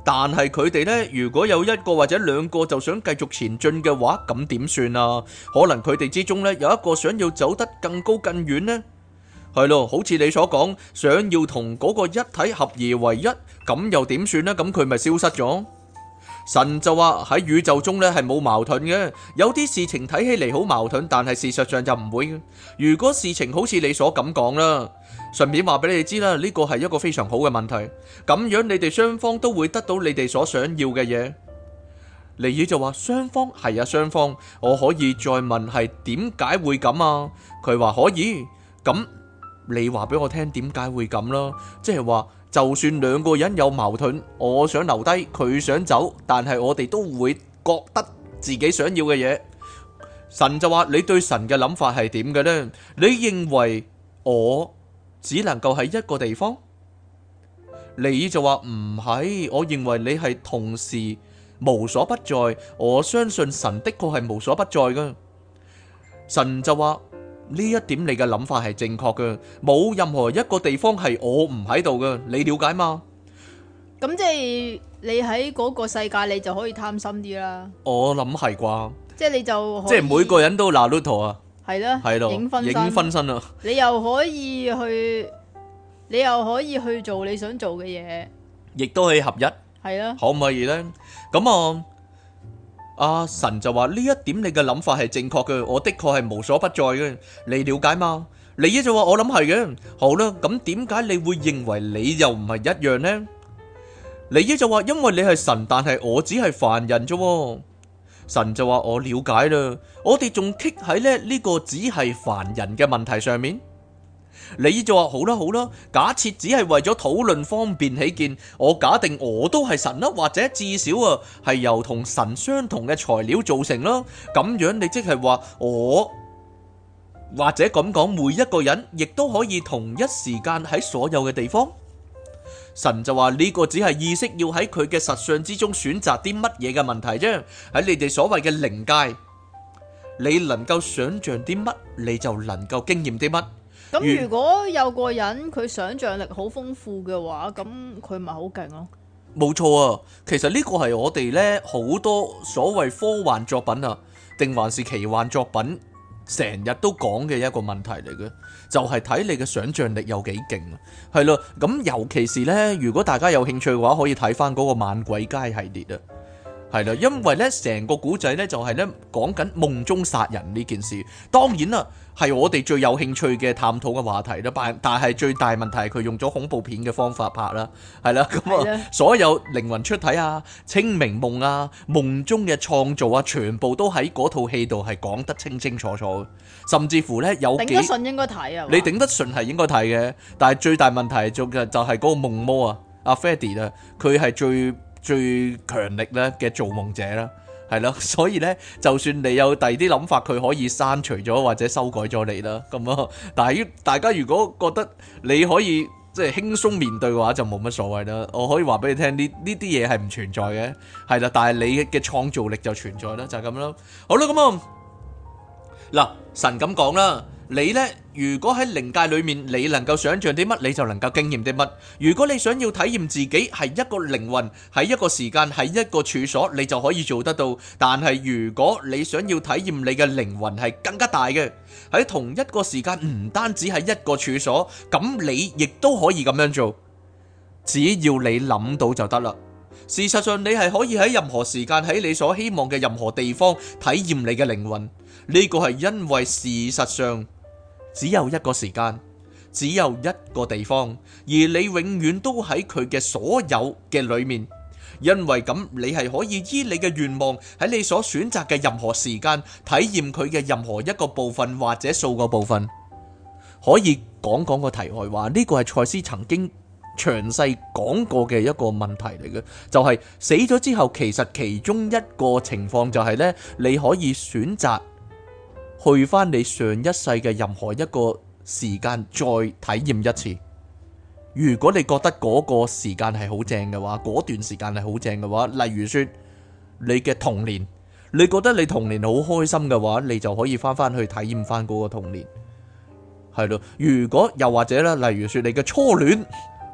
但係佢哋呢，如果有一個或者兩個就想繼續前進嘅話，咁點算啊？可能佢哋之中呢，有一個想要走得更高更遠呢？係咯，好似你所講，想要同嗰個一體合而為一，咁又點算呢？咁佢咪消失咗？神就話喺宇宙中呢係冇矛盾嘅，有啲事情睇起嚟好矛盾，但係事實上就唔會嘅。如果事情好似你所咁講啦，順便話俾你哋知啦，呢個係一個非常好嘅問題，咁樣你哋雙方都會得到你哋所想要嘅嘢。尼爾就話雙方係啊，雙方，我可以再問係點解會咁啊？佢話可以，咁你話俾我聽點解會咁啦？即係話就算兩個人有矛盾，我想留低，佢想走，但係我哋都會覺得自己想要嘅嘢。神就話你對神嘅諗法係點嘅呢？你認為我只能夠喺一個地方？尼爾就話唔係，我認為你係同時無所不在。我相信神的確係無所不在㗎。神就話呢一點你嘅諗法係正確嘅，冇任何一個地方係我唔喺度嘅，你了解嗎？ 咁即係你喺嗰個世界，你就可以貪心啲啦。 我諗係啩， 即係你就可以即係每個人都拿魯陀啊， 係啦， 係咯， 影分身， 影分身啊， 你又可以去，你又可以去做你想做嘅嘢， 亦都可以合一， 係啦。 可唔可以呢？咁啊。阿神就話呢一點你嘅諗法係正確嘅，我的確係無所不在嘅，你了解嗎？尼爾就話我諗係嘅。好啦，咁點解你會認為你又唔係一樣呢？尼爾就話因為你係神，但係我只係凡人啫。神就話我了解啦，我哋仲棘喺呢個只係凡人嘅問題上面。尼爾就話好啦好啦，假設只係為咗討論方便起見，我假定我都係神啦，或者至少啊係由同神相同嘅材料造成啦。咁樣你即係話我，或者咁講，每一個人亦都可以同一時間喺所有嘅地方。神就話呢個只係意識要喺佢嘅實相之中選擇啲乜嘢嘅問題啫。喺你哋所謂嘅靈界，你能夠想象啲乜，你就能夠經驗啲乜。 咁如果有個人佢想像力好豐富嘅話，咁佢咪好勁咯？ 冇錯啊，其實呢個係我哋呢好多所謂科幻作品啊，定還是奇幻作品，成日都講嘅一個問題嚟嘅，就係睇你嘅想像力有幾勁啊。係咯，咁尤其是呢，如果大家有興趣嘅話，可以睇翻嗰個猛鬼街系列啊。係啦，因為呢成個古仔呢就係呢講緊夢中殺人呢件事。當然啦，係我哋最有興趣嘅探討嘅話題啦。但係最大問題係佢用咗恐怖片嘅方法拍啦。係啦，咁啊，所有靈魂出體啊、清明夢啊、夢中嘅創造啊，全部都喺嗰套戲度係講得清清楚楚。甚至乎呢，有幾頂得順應該睇啊！ 你頂得順係應該睇嘅，但係最大問題就係嗰個夢魔啊，阿 Freddy 啊，佢係最強力咧嘅造夢者啦，係咯，所以咧，就算你有第二啲諗法，佢可以刪除咗或者修改咗你啦，咁啊，但係大家如果覺得你可以即係輕鬆面對嘅話，就冇乜所謂啦。我可以話俾你聽，呢啲嘢係唔存在嘅，係啦，但係你嘅創造力就存在啦，就係咁啦。好啦，咁啊，嗱，神咁講啦。你呢，如果喺靈界裏面，你能夠想象啲乜，你就能夠經驗啲乜。如果你想要體驗自己係一個靈魂，喺一個時間，喺一個處所，你就可以做得到。但係如果你想要體驗你嘅靈魂係更加大嘅，喺同一個時間，唔單止係一個處所，咁你亦都可以咁樣做。只要你諗到就得啦。事實上，你係可以喺任何時間，喺你所希望嘅任何地方體驗你嘅靈魂。呢個係因為事實上只有一個時間，只有一個地方，而你永遠都喺佢嘅所有嘅裏面。因為咁，你係可以依你嘅願望喺你所選擇嘅任何時間體驗佢嘅任何一個部分或者數個部分。可以講講個題外話，呢個係賽斯曾經詳細講過嘅一個問題嚟嘅，就係死咗之後，其實其中一個情況就係呢：你可以選擇去翻你上一世嘅任何一個時間再體驗一次。如果你覺得嗰個時間係好正嘅話，嗰段時間係好正嘅話，例如說你嘅童年，你覺得你童年好開心嘅話，你就可以翻翻去體驗翻嗰個童年，係咯。如果又或者咧，例如說你嘅初戀，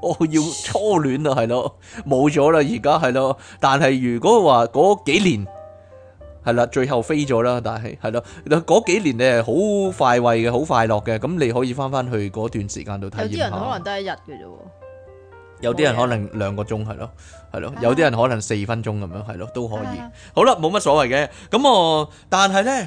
我要初戀啊，係咯，冇咗啦，而家係咯。但係如果話嗰幾年係啦，最後飛咗啦，但係係咯，嗰幾年你係好快慰嘅，好快樂嘅，咁你可以翻翻去嗰段時間度體驗下。 有啲人可能得一日嘅啫喎。 有啲人可能2個鐘係咯，係咯，有啲人可能4分鐘咁樣係咯，都可以。好啦，冇乜所謂嘅。咁但係呢，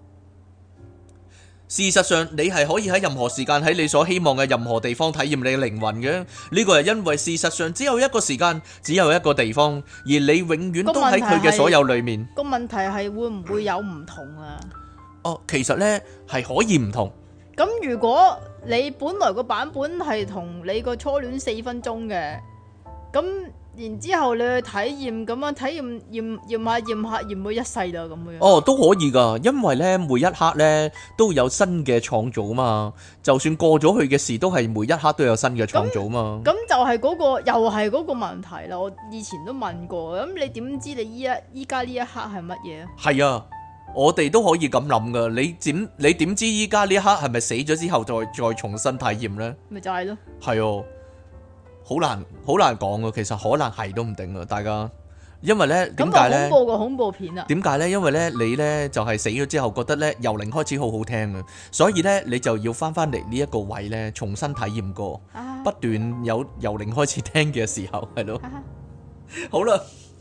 事實上你係可以喺任何時間喺你所希望嘅任何地方體驗你嘅靈魂嘅。呢個係因為事實上只有一個時間，只有一個地方，而你永遠都喺佢嘅所有裏面。 個問題係會唔會有唔同啊？ 哦，其實呢係可以唔同。 咁如果你本來個版本係同你個初戀4分鐘嘅，咁然之後你去體驗咁樣體驗下驗到一世啦咁樣。 哦，都可以噶，因為呢每一刻呢都有新嘅創造嘛，就算過咗去嘅事都係每一刻都有新嘅創造嘛。 咁就係嗰個又係嗰個問題啦。我以前都問過，咁你點知你依家呢一刻係乜嘢啊？ 係啊。我哋都可以咁諗噶，你點知依家呢一刻係咪死咗之後再重新體驗呢？ 咪就係咯， 係哦，好難講噶，其實可能係都唔定噶，大家，因為呢點解呢？ 咁個恐怖片啊？ 點解呢？因為呢你呢就係死咗之後覺得呢由零開始好好聽啊，所以呢你就要翻嚟呢一個位呢重新體驗過，不斷有由零開始聽嘅時候，係咯，好啦。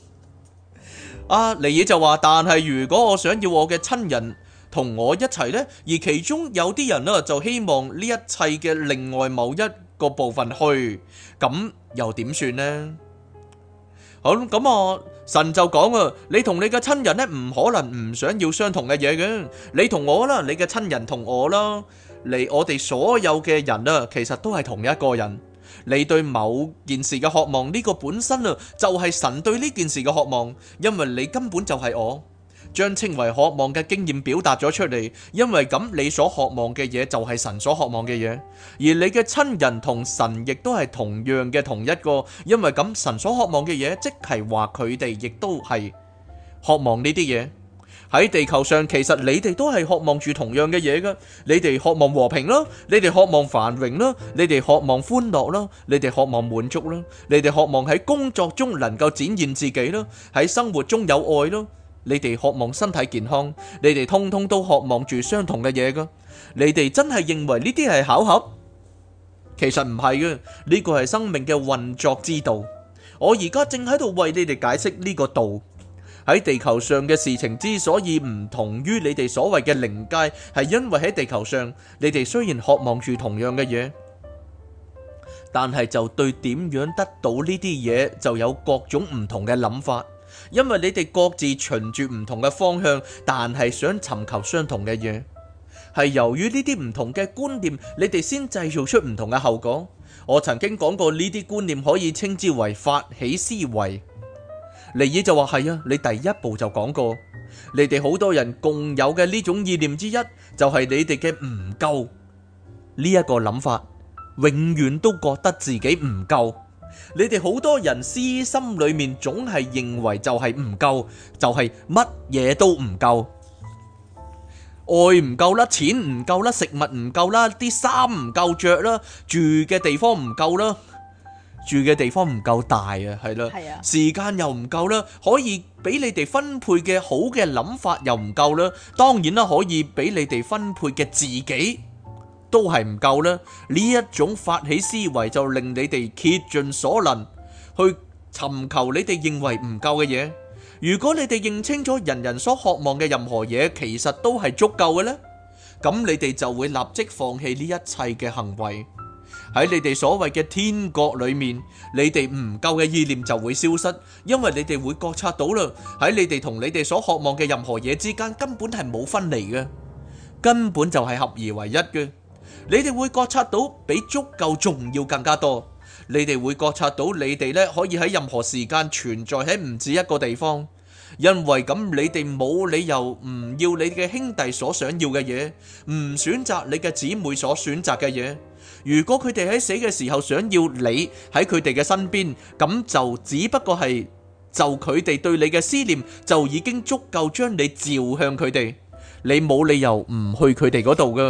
尼爾就話，但係如果我想要我嘅親人同我一齊呢，而其中有啲人呢就希望呢一切嘅另外某一個部分去，咁又點算呢？好，咁神就講啊，你同你嘅親人呢唔可能唔想要相同嘅嘢嘅，你同我啦，你嘅親人同我啦，我哋所有嘅人啊，其實都係同一個人。你對某件事嘅渴望，呢個本身啊，就係神對呢件事嘅渴望，因為你根本就係我，將稱為渴望嘅經驗表達咗出嚟，因為咁你所渴望嘅嘢就係神所渴望嘅嘢，而你嘅親人同神亦都係同樣嘅同一個，因為咁神所渴望嘅嘢，即係話佢哋亦都係渴望呢啲嘢。喺地球上，其實你哋都係渴望住同樣嘅嘢㗎。你哋渴望和平啦，你哋渴望繁榮啦，你哋渴望歡樂啦，你哋渴望滿足啦，你哋渴望喺工作中能夠展現自己啦，喺生活中有愛啦，你哋渴望身體健康，你哋通通都渴望住相同嘅嘢㗎。你哋真係認為呢啲係巧合？其實唔係嘅，呢個係生命嘅運作之道。我而家正喺度為你哋解釋呢個道。喺地球上嘅事情之所以唔同於你哋所謂嘅靈界，係因為喺地球上，你哋雖然渴望住同樣嘅嘢，但係就對點樣得到呢啲嘢就有各種唔同嘅諗法，因為你哋各自循住唔同嘅方向，但係想尋求相同嘅嘢，係由於呢啲唔同嘅觀念，你哋先製造出唔同嘅後果。我曾經講過，呢啲觀念可以稱之為發起思維。尼爾就話係啊，你第一步就講過，你哋好多人共有嘅呢種意念之一，就係你哋嘅唔夠呢一個諗法，永遠都覺得自己唔夠。你哋好多人私心裏面總係認為就係唔夠，就係乜嘢都唔夠，愛唔夠啦，錢唔夠啦，食物唔夠啦，啲衫唔夠着啦，住嘅地方唔夠啦。住嘅地方唔夠大啊，係啦，時間又唔夠啦，可以俾你哋分配嘅好嘅諗法又唔夠啦，當然啦，可以俾你哋分配嘅自己都係唔夠啦。呢一種發起思維就令你哋竭盡所能去尋求你哋認為唔夠嘅嘢。如果你哋認清楚人人所渴望嘅任何嘢其實都係足夠嘅呢，咁你哋就會立即放棄呢一切嘅行為。喺你哋所謂嘅天國裏面，你哋唔夠嘅意念就會消失，因為你哋會覺察到啦，喺你哋同你哋所渴望嘅任何嘢之間根本係冇分離嘅，根本就係合而為一嘅。你哋會覺察到比足夠仲要更加多，你哋會覺察到你哋咧可以喺任何時間存在喺唔止一個地方，因為咁你哋冇理由唔要你嘅兄弟所想要嘅嘢，唔選擇你嘅姊妹所選擇嘅嘢。如果佢哋喺死嘅時候想要你喺佢哋嘅身邊，咁就只不過係就佢哋對你嘅思念就已經足夠將你召向佢哋，你冇理由唔去佢哋嗰度噶。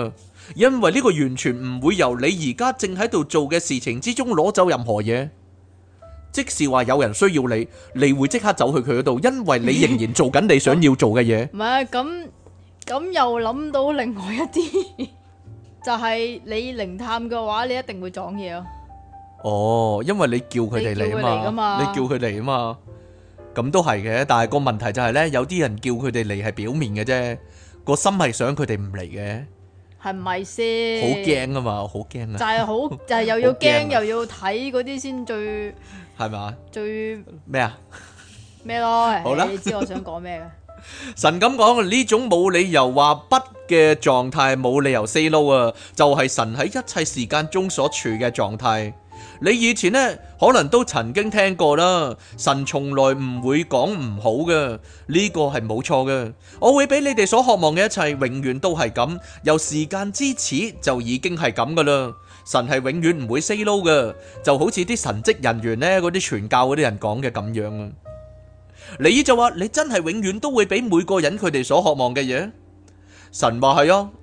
因為呢個完全唔會由你而家正喺度做嘅事情之中攞走任何嘢。即是話有人需要你，你會即刻走去佢嗰度，因為你仍然做緊你想要做嘅嘢。 唔係咁又諗到另外一啲，就係你靈探嘅話，你一定會撞嘢咯。 哦，因為你叫佢哋嚟啊嘛，你叫佢嚟啊嘛，咁都係嘅。但係個問題就係呢，有啲人叫佢哋嚟係表面嘅啫，個心係想佢哋唔嚟嘅。係唔係先？ 好驚啊嘛，好驚啊！ 就係又要驚又要睇嗰啲先最係咪？ 最咩啊？ 咩咯？ 好啦， 你知我想講咩嘅？ 神咁講，呢種冇理由話不嘅狀態，冇理由 say no 啊，就係神喺一切時間中所處嘅狀態。你以前呢，可能都曾經聽過啦，神從來唔會講唔好嘅，呢個係冇錯嘅。我會俾你哋所渴望嘅一切，永遠都係咁，由時間之始就已經係咁噶啦。神係永遠唔會 say no 嘅，就好似啲神職人員呢，嗰啲傳教嗰啲人講嘅咁樣啊。你就話你真係永遠都會俾每個人佢哋所渴望嘅嘢。神話係啊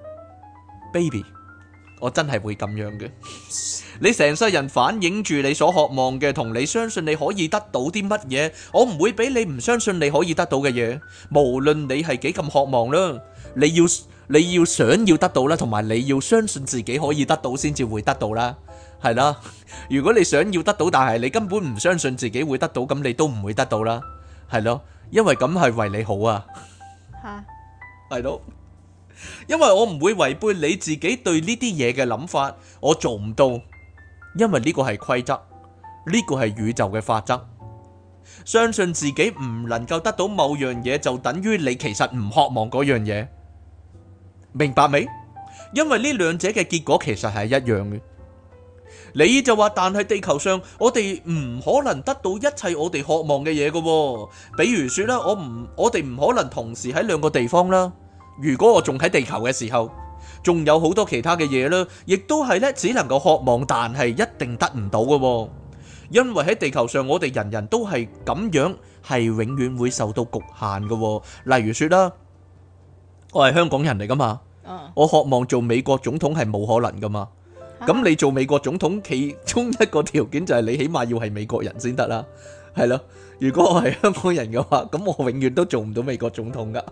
，baby， 我真係會咁樣嘅。你成世人反映住你所渴望嘅，同你相信你可以得到啲乜嘢，我唔會俾你唔相信你可以得到嘅嘢。無論你係幾咁渴望啦，你要想要得到啦，同埋你要相信自己可以得到先至會得到啦，係啦。如果你想要得到，但係你根本唔相信自己會得到，咁你都唔會得到啦，係咯，因為咁係為你好啊，係咯。因為我唔會違背你自己對呢啲嘢嘅諗法，我做唔到。因為呢個係規則，呢個係宇宙嘅法則。相信自己唔能夠得到某樣嘢，就等於你其實唔渴望嗰樣嘢，明白未？因為呢兩者嘅結果其實係一樣嘅。你就話，但係地球上我哋唔可能得到一切我哋渴望嘅嘢㗎，比如說啦，我哋唔可能同時喺兩個地方啦。如果我仲喺地球嘅時候，仲有好多其他嘅嘢啦，亦都係咧，只能夠渴望，但係一定得唔到嘅。因為喺地球上，我哋人人都係咁樣，係永遠會受到局限嘅。例如說啦，我係香港人嚟噶嘛，我渴望做美國總統係冇可能噶嘛。咁你做美國總統，其中一個條件就係你起碼要係美國人先得啦，係咯。如果我係香港人嘅話，咁我永遠都做唔到美國總統噶。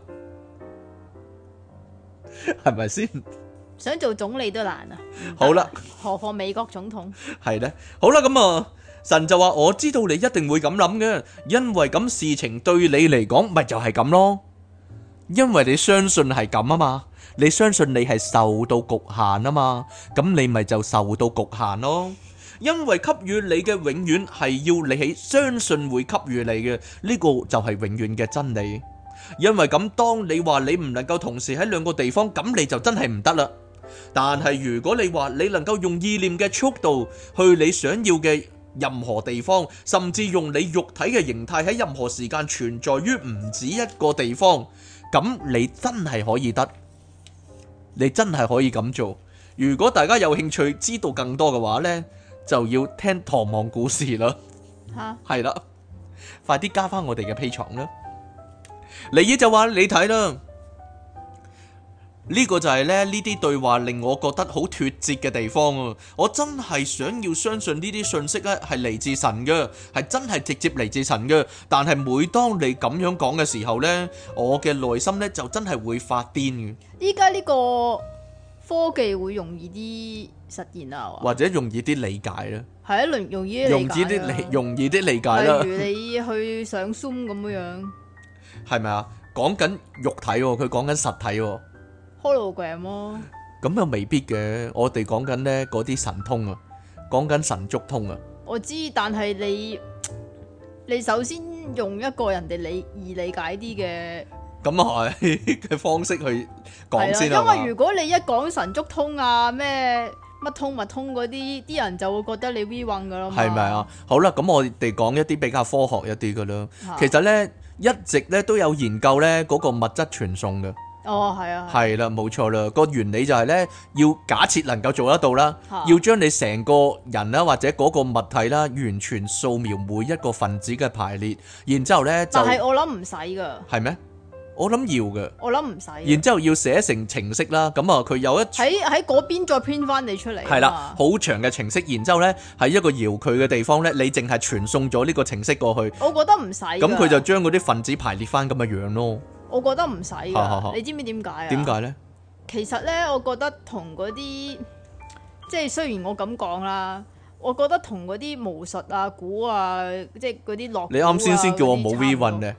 係咪先？ 想做總理都難啊！ 好啦， 何況美國總統？ 係咧，好啦，咁啊，神就話我知道你一定會咁諗嘅，因為咁事情對你嚟講咪就係咁咯，因為你相信係咁啊嘛，你相信你係受到局限啊嘛，咁你咪就受到局限咯。因為給予你嘅永遠係要你喺相信會給予你嘅，呢個就係永遠嘅真理。因為咁，當你話你唔能夠同時喺兩個地方，咁你就真係唔得啦。但係如果你話你能夠用意念嘅速度去你想要嘅任何地方，甚至用你肉體嘅形態喺任何時間存在於唔止一個地方，咁你真係可以得，你真係可以咁做。如果大家有興趣知道更多嘅話呢，就要聽唐望故事啦。係啦，快啲加翻我哋嘅 Patreon啦。尼爾就話你睇啦，呢個就係咧呢啲對話令我覺得好脫節嘅地方啊！我真係想要相信呢啲信息咧係嚟自神嘅，係真係直接嚟自神嘅。但係每當你咁樣講嘅時候呢，我嘅內心呢就真係會發癲嘅。 依家呢個科技會容易啲實現啊， 或者容易啲理解啦。 係啊，容易啲理解啦。例如你去上 Zoom 咁樣。 係咪啊？講緊肉體喎，佢講緊實體喎。 Hologram 咯。 咁又未必嘅，我哋講緊呢嗰啲神通啊，講緊神足通啊。 我知，但係你首先用一個人哋易理解啲嘅， 咁啊係嘅方式去講先啊。 因為如果你一講神足通啊咩乜通物通嗰啲人就會覺得你 V 運噶啦嘛。係咪啊？ 好啦，咁我哋講一啲比較科學一啲噶啦。其實呢。一直咧都有研究咧嗰個物質傳送嘅。 哦，係啊， 係啦，冇錯啦。個原理就係咧，要假設能夠做得到啦，要將你成個人啦或者嗰個物體啦，完全掃描每一個分子嘅排列，然之後咧就。但係我諗唔使噶。係咩？ 我諗要嘅。 我諗唔使。 然之後要寫成程式啦，咁啊佢有一喺嗰邊再編翻你出嚟。 係啦，好長嘅程式，然之後咧喺一個遙距嘅地方咧，你淨係傳送咗呢個程式過去， 我覺得唔使。 咁佢就將嗰啲分子排列翻咁嘅樣咯。 我覺得唔使哈哈哈㗎，你知唔知點解啊？ 點解咧？ 其實咧，我覺得同嗰啲即係雖然我咁講啦，我覺得同嗰啲巫術啊、估啊，即係嗰啲落。 你啱先叫我冇 V 運咧。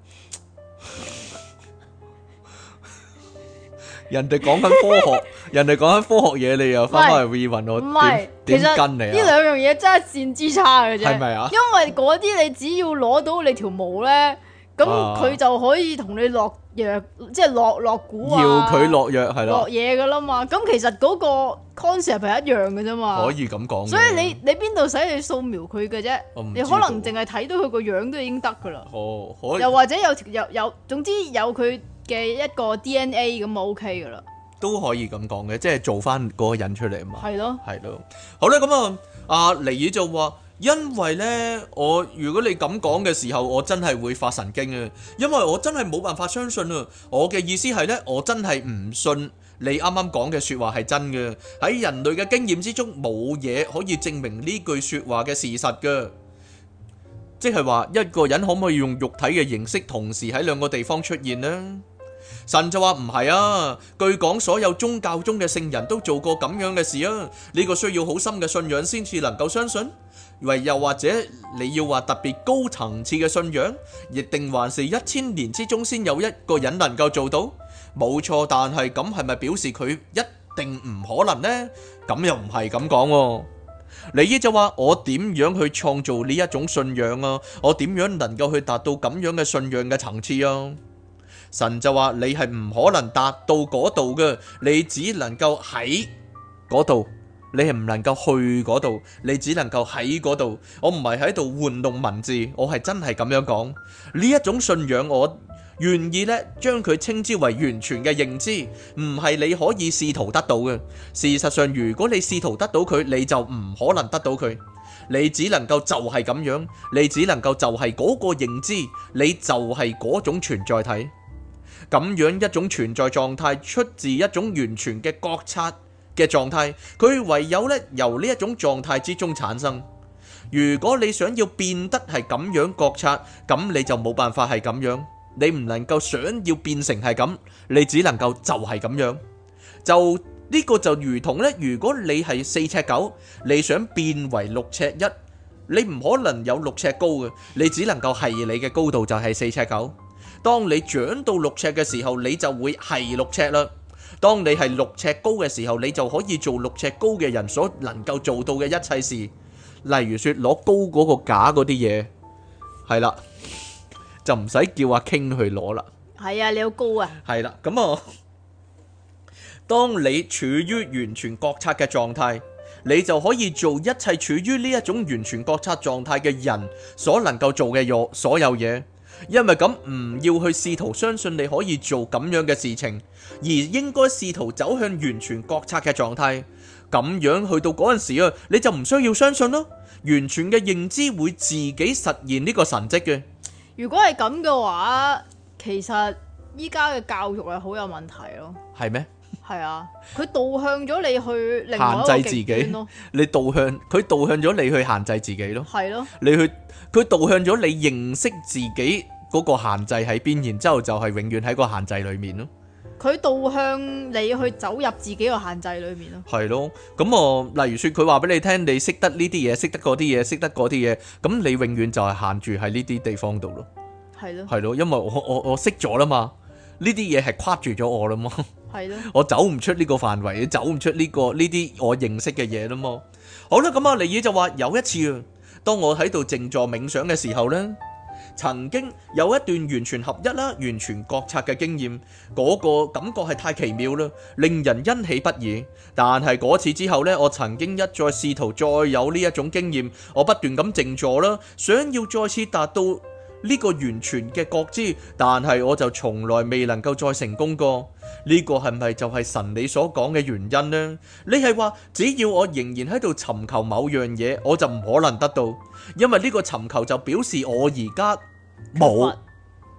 人哋講緊科學，人哋講緊科學嘢，你又翻返嚟 V 運我， 唔係， 點其實跟你啊？ 呢兩樣嘢真係一線之差嘅啫。 係咪啊？ 因為嗰啲你只要攞到你條毛咧，咁佢就可以同你落藥，即係落蠱啊， 要佢落藥係啦， 落嘢噶啦嘛。咁其實嗰個 concept 係一樣嘅啫嘛。 可以咁講。 所以你邊度使你掃描佢嘅啫？你可能淨係睇到佢個樣都已經得噶啦。 哦，可以。 又或者有，總之有佢嘅一個 DNA 咁就 OK 噶啦。 都可以咁講嘅，即係做翻嗰個人出嚟啊嘛。 係咯， 係咯。好啦，咁啊，阿尼爾就話，因為呢，如果你咁講嘅時候，我真係會發神經啊，因為我真係冇辦法相信啊。我嘅意思係呢，我真係唔信你啱啱講嘅說話係真嘅。喺人類嘅經驗之中，冇嘢可以證明呢句說話嘅事實噶。即係話一個人可唔可以用肉體嘅形式同時喺兩個地方出現呢？神就話唔係啊，據講所有宗教中嘅聖人都做過咁樣嘅事啊，呢個需要好深嘅信仰先至能夠相信，又或者你要話特別高層次嘅信仰，亦定還是1000年之中先有一個人能夠做到？冇錯，但係咁係咪表示佢一定唔可能呢？咁又唔係咁講喎。尼爾就話，我點樣去創造呢一種信仰啊？我點樣能夠去達到咁樣嘅信仰嘅層次啊？神就話，你係唔可能達到嗰度嘅，你只能夠喺嗰度，你係唔能夠去嗰度，你只能夠喺嗰度。我唔係喺度玩弄文字，我係真係咁樣講。呢一種信仰，我願意咧將佢稱之為完全嘅認知，唔係你可以試圖得到嘅。事實上，如果你試圖得到佢，你就唔可能得到佢。你只能夠就係咁樣，你只能夠就係嗰個認知，你就係嗰種存在體。咁樣一種存在狀態出自一種完全嘅覺察嘅狀態，佢唯有咧由呢一種狀態之中產生。如果你想要變得係咁樣覺察，咁你就冇辦法係咁樣，你唔能夠想要變成係咁，你只能夠就係咁樣。就呢個就如同咧，如果你係4尺9，你想變為6尺1，你唔可能有6尺高嘅，你只能夠係你嘅高度就係4尺9。當你長到6尺嘅時候，你就會係6尺啦。當你係6尺高嘅時候，你就可以做6尺高嘅人所能夠做到嘅一切事，例如說攞高嗰個架嗰啲嘢，係啦，就唔使叫阿 King 去攞啦。 係啊，你好高啊。 係啦，咁啊，當你處於完全覺察嘅狀態，你就可以做一切處於呢一種完全覺察狀態嘅人所能夠做嘅所有嘢。因為咁唔要去試圖相信你可以做咁樣嘅事情，而應該試圖走向完全覺察嘅狀態。咁樣去到嗰陣時啊，你就唔需要相信咯。完全嘅認知會自己實現呢個神蹟嘅。 如果係咁嘅話，其實依家嘅教育係好有問題咯。 係咩？ 係啊，佢導向咗你去另外一個極端咯。 佢導向咗你去限制自己咯。 係咯， 佢導向咗你認識自己嗰個限制喺邊，然之後就係永遠喺個限制裏面咯。 佢導向你去走入自己個限制裏面咯。 係咯，咁例如說佢話俾你聽，你識得呢啲嘢，識得嗰啲嘢，識得嗰啲嘢，咁你永遠就係限住喺呢啲地方度咯。係咯，因為我識咗啦嘛，呢啲嘢係框住咗我啦嘛。係咯，我走唔出呢個範圍，走唔出呢啲我認識嘅嘢啦嘛。好啦，咁尼爾就話有一次啊，當我喺度靜坐冥想嘅時候呢，曾經有一段完全合一啦、完全覺察嘅經驗，嗰個感覺係太奇妙啦，令人欣喜不已。但係嗰次之後呢，我曾經一再試圖再有呢一種經驗，我不斷咁靜坐啦，想要再次達到呢個完全嘅覺知，但係我就從來未能夠再成功過。呢個係咪就係神你所講嘅原因呢？你係話只要我仍然喺度尋求某樣嘢，我就唔可能得到，因為呢個尋求就表示我而家冇。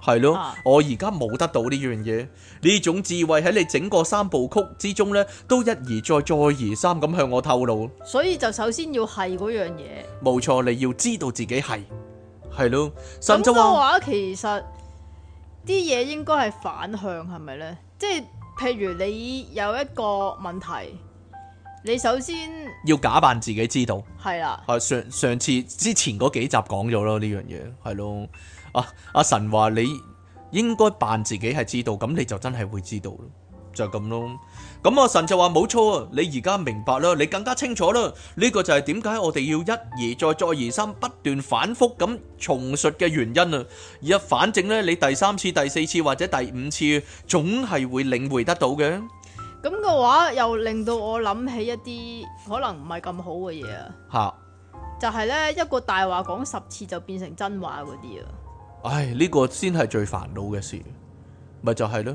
係咯， 啊我而家冇得到呢樣嘢，呢種智慧喺你整個三部曲之中呢，都一而再再而三咁向我透露。 所以就首先要係嗰樣嘢。 冇錯，你要知道自己係咯。 咁神就話嘅話，其實啲嘢應該係反向，係咪呢？即係譬如你有一個問題，你首先要假扮自己知道。 係啦， 上次之前嗰幾集講咗咯，呢樣嘢係咯。阿神話你應該扮自己係知道，咁你就真係會知道咯，就係咁咯。咁阿神就話冇錯啊，你而家明白啦，你更加清楚啦。呢個就係點解我哋要一而再再而三不斷反覆咁重述嘅原因啊。反正呢，你第三次、第四次或者第五次，總係會領會得到嘅。 咁嘅話又令到我諗起一啲可能唔係咁好嘅嘢啊。 吓， 就係呢一個大話講10次就變成真話嗰啲啊。 唉，呢個先係最煩惱嘅事，咪就係咯。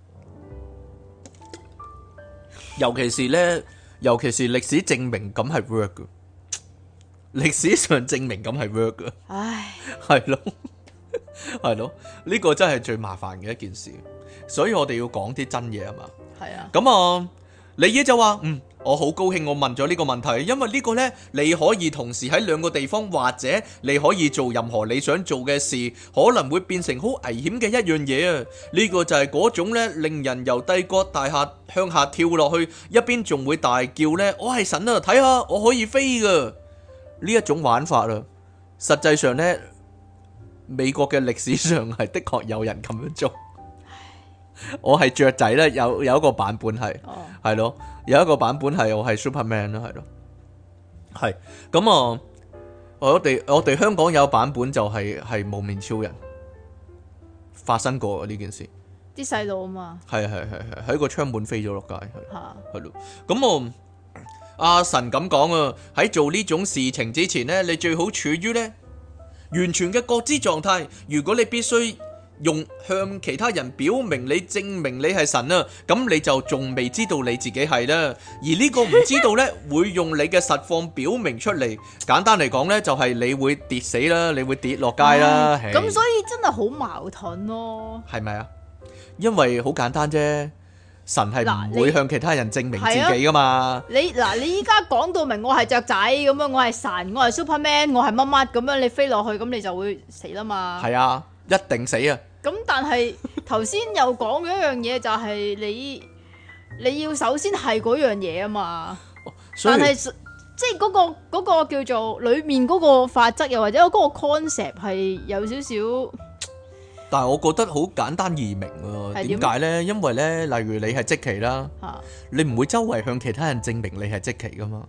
尤其是歷史證明咁係 work 嘅，歷史上證明咁係 work 嘅， 唉， 係咯，係咯，呢個真係最麻煩嘅一件事，所以我哋要講啲真嘢啊嘛。 係啊。 咁啊，李野就話我好高興我問咗呢個問題，因為呢個呢，你可以同時喺兩個地方，或者你可以做任何你想做嘅事，可能會變成好危險嘅一樣嘢啊！呢個就係嗰種呢，令人由帝國大廈向下跳落去，一邊仲會大叫呢：「我係神啊，睇下我可以飛噶！呢一種玩法啊，實際上呢，美國嘅歷史上係的確有人咁樣做。我係雀仔咧，有一個版本係咯，有一個版本係我係 Superman 啦，係咯，係咁啊！我哋香港有版本就係無面超人發生過呢件事， 啲細路啊嘛， 係喺個窗門飛咗落街，係咯，咁阿神咁講啊，喺做呢種事情之前呢，你最好處於呢完全嘅覺知狀態。如果你必須用向其他人表明你證明你係神啊，咁你就仲未知道你自己係啦。而呢個唔知道呢，會用你嘅實況表明出嚟。簡單嚟講呢，就係你會跌死啦，你會跌落街啦。 咁所以真係好矛盾咯。 係咪啊？因為好簡單啫，神係唔會向其他人證明自己噶嘛。 你依家講到明我係雀仔咁樣，我係神，我係 Superman， 我係乜乜咁樣，你飛落去咁你就會死啦嘛。係啊，一定死啊！ 咁但係頭先又講咗一樣嘢，就係你要首先係嗰樣嘢啊嘛。但係即係嗰個叫做裏面嗰個法則，又或者嗰個 concept 係有少少。 但係我覺得好簡單易明啊。點解呢？因為呢，例如你係積奇啦，你唔會周圍向其他人證明你係積奇噶嘛。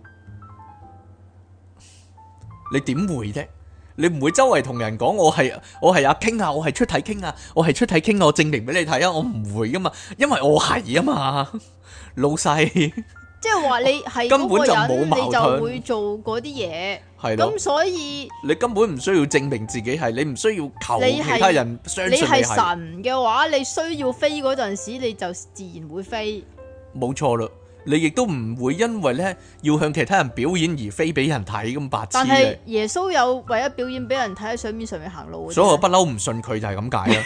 你點會啫？你唔會周圍同人講我係阿傾啊，我係出體傾啊，我係出體傾啊，我證明俾你睇啊，我唔會噶嘛，因為我係啊嘛，老細。即係話你係根本就冇矛盾， 你就會做嗰啲嘢。係咯。咁所以你根本唔需要證明自己係，你唔需要求其他人相信你係。 你係神嘅話，你需要飛嗰陣時，你就自然會飛。 冇錯啦。你亦都唔會因為咧要向其他人表演而飛俾人睇咁白痴。 但係耶穌有為咗表演俾人睇喺水面上面行路。 所以我不嬲唔信佢就係咁解啦。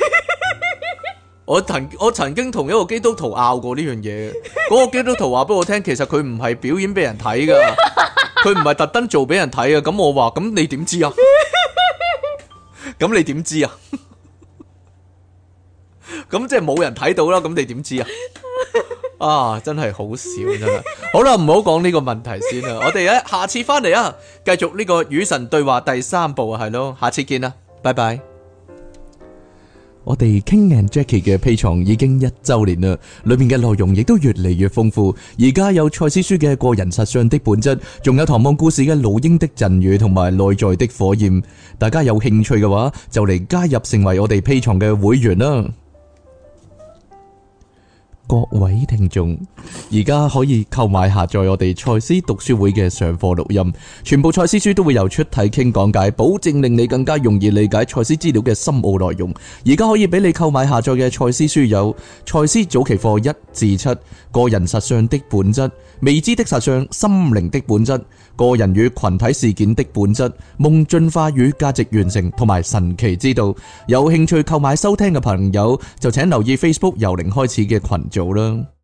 我曾經同一個基督徒拗過呢樣嘢，嗰個基督徒話俾我聽，其實佢唔係表演俾人睇噶，佢唔係特登做俾人睇啊。咁我話咁你點知啊？咁你點知啊？咁即係冇人睇到啦。咁你點知啊？啊，真係好笑真係。好啦，唔好講呢個問題先啦。我哋咧下次翻嚟啊，繼續呢個與神對話第3部啊，係咯，下次見啦，拜拜。我哋 King and Jackie 嘅 Patreon 已經1周年啦，裏面嘅內容亦都越嚟越豐富。而家有賽斯書嘅個人實相的本質，仲有唐望故事嘅老鷹的贈語同埋內在的火焰。大家有興趣嘅話，就嚟加入成為我哋 Patreon嘅會員啦。 各位聽眾，而家可以購買下載我哋賽斯讀書會嘅上課錄音，全部賽斯書都會由出體傾講解，保證令你更加容易理解賽斯資料嘅深奧內容。而家可以俾你購買下載嘅賽斯書有賽斯早期課1至7、個人實相的本質、未知的實相、心靈的本質、個人與群體事件的本質、夢進化與價值完成同埋神奇之道。有興趣購買收聽嘅朋友就請留意 Facebook 由零開始嘅群組啦。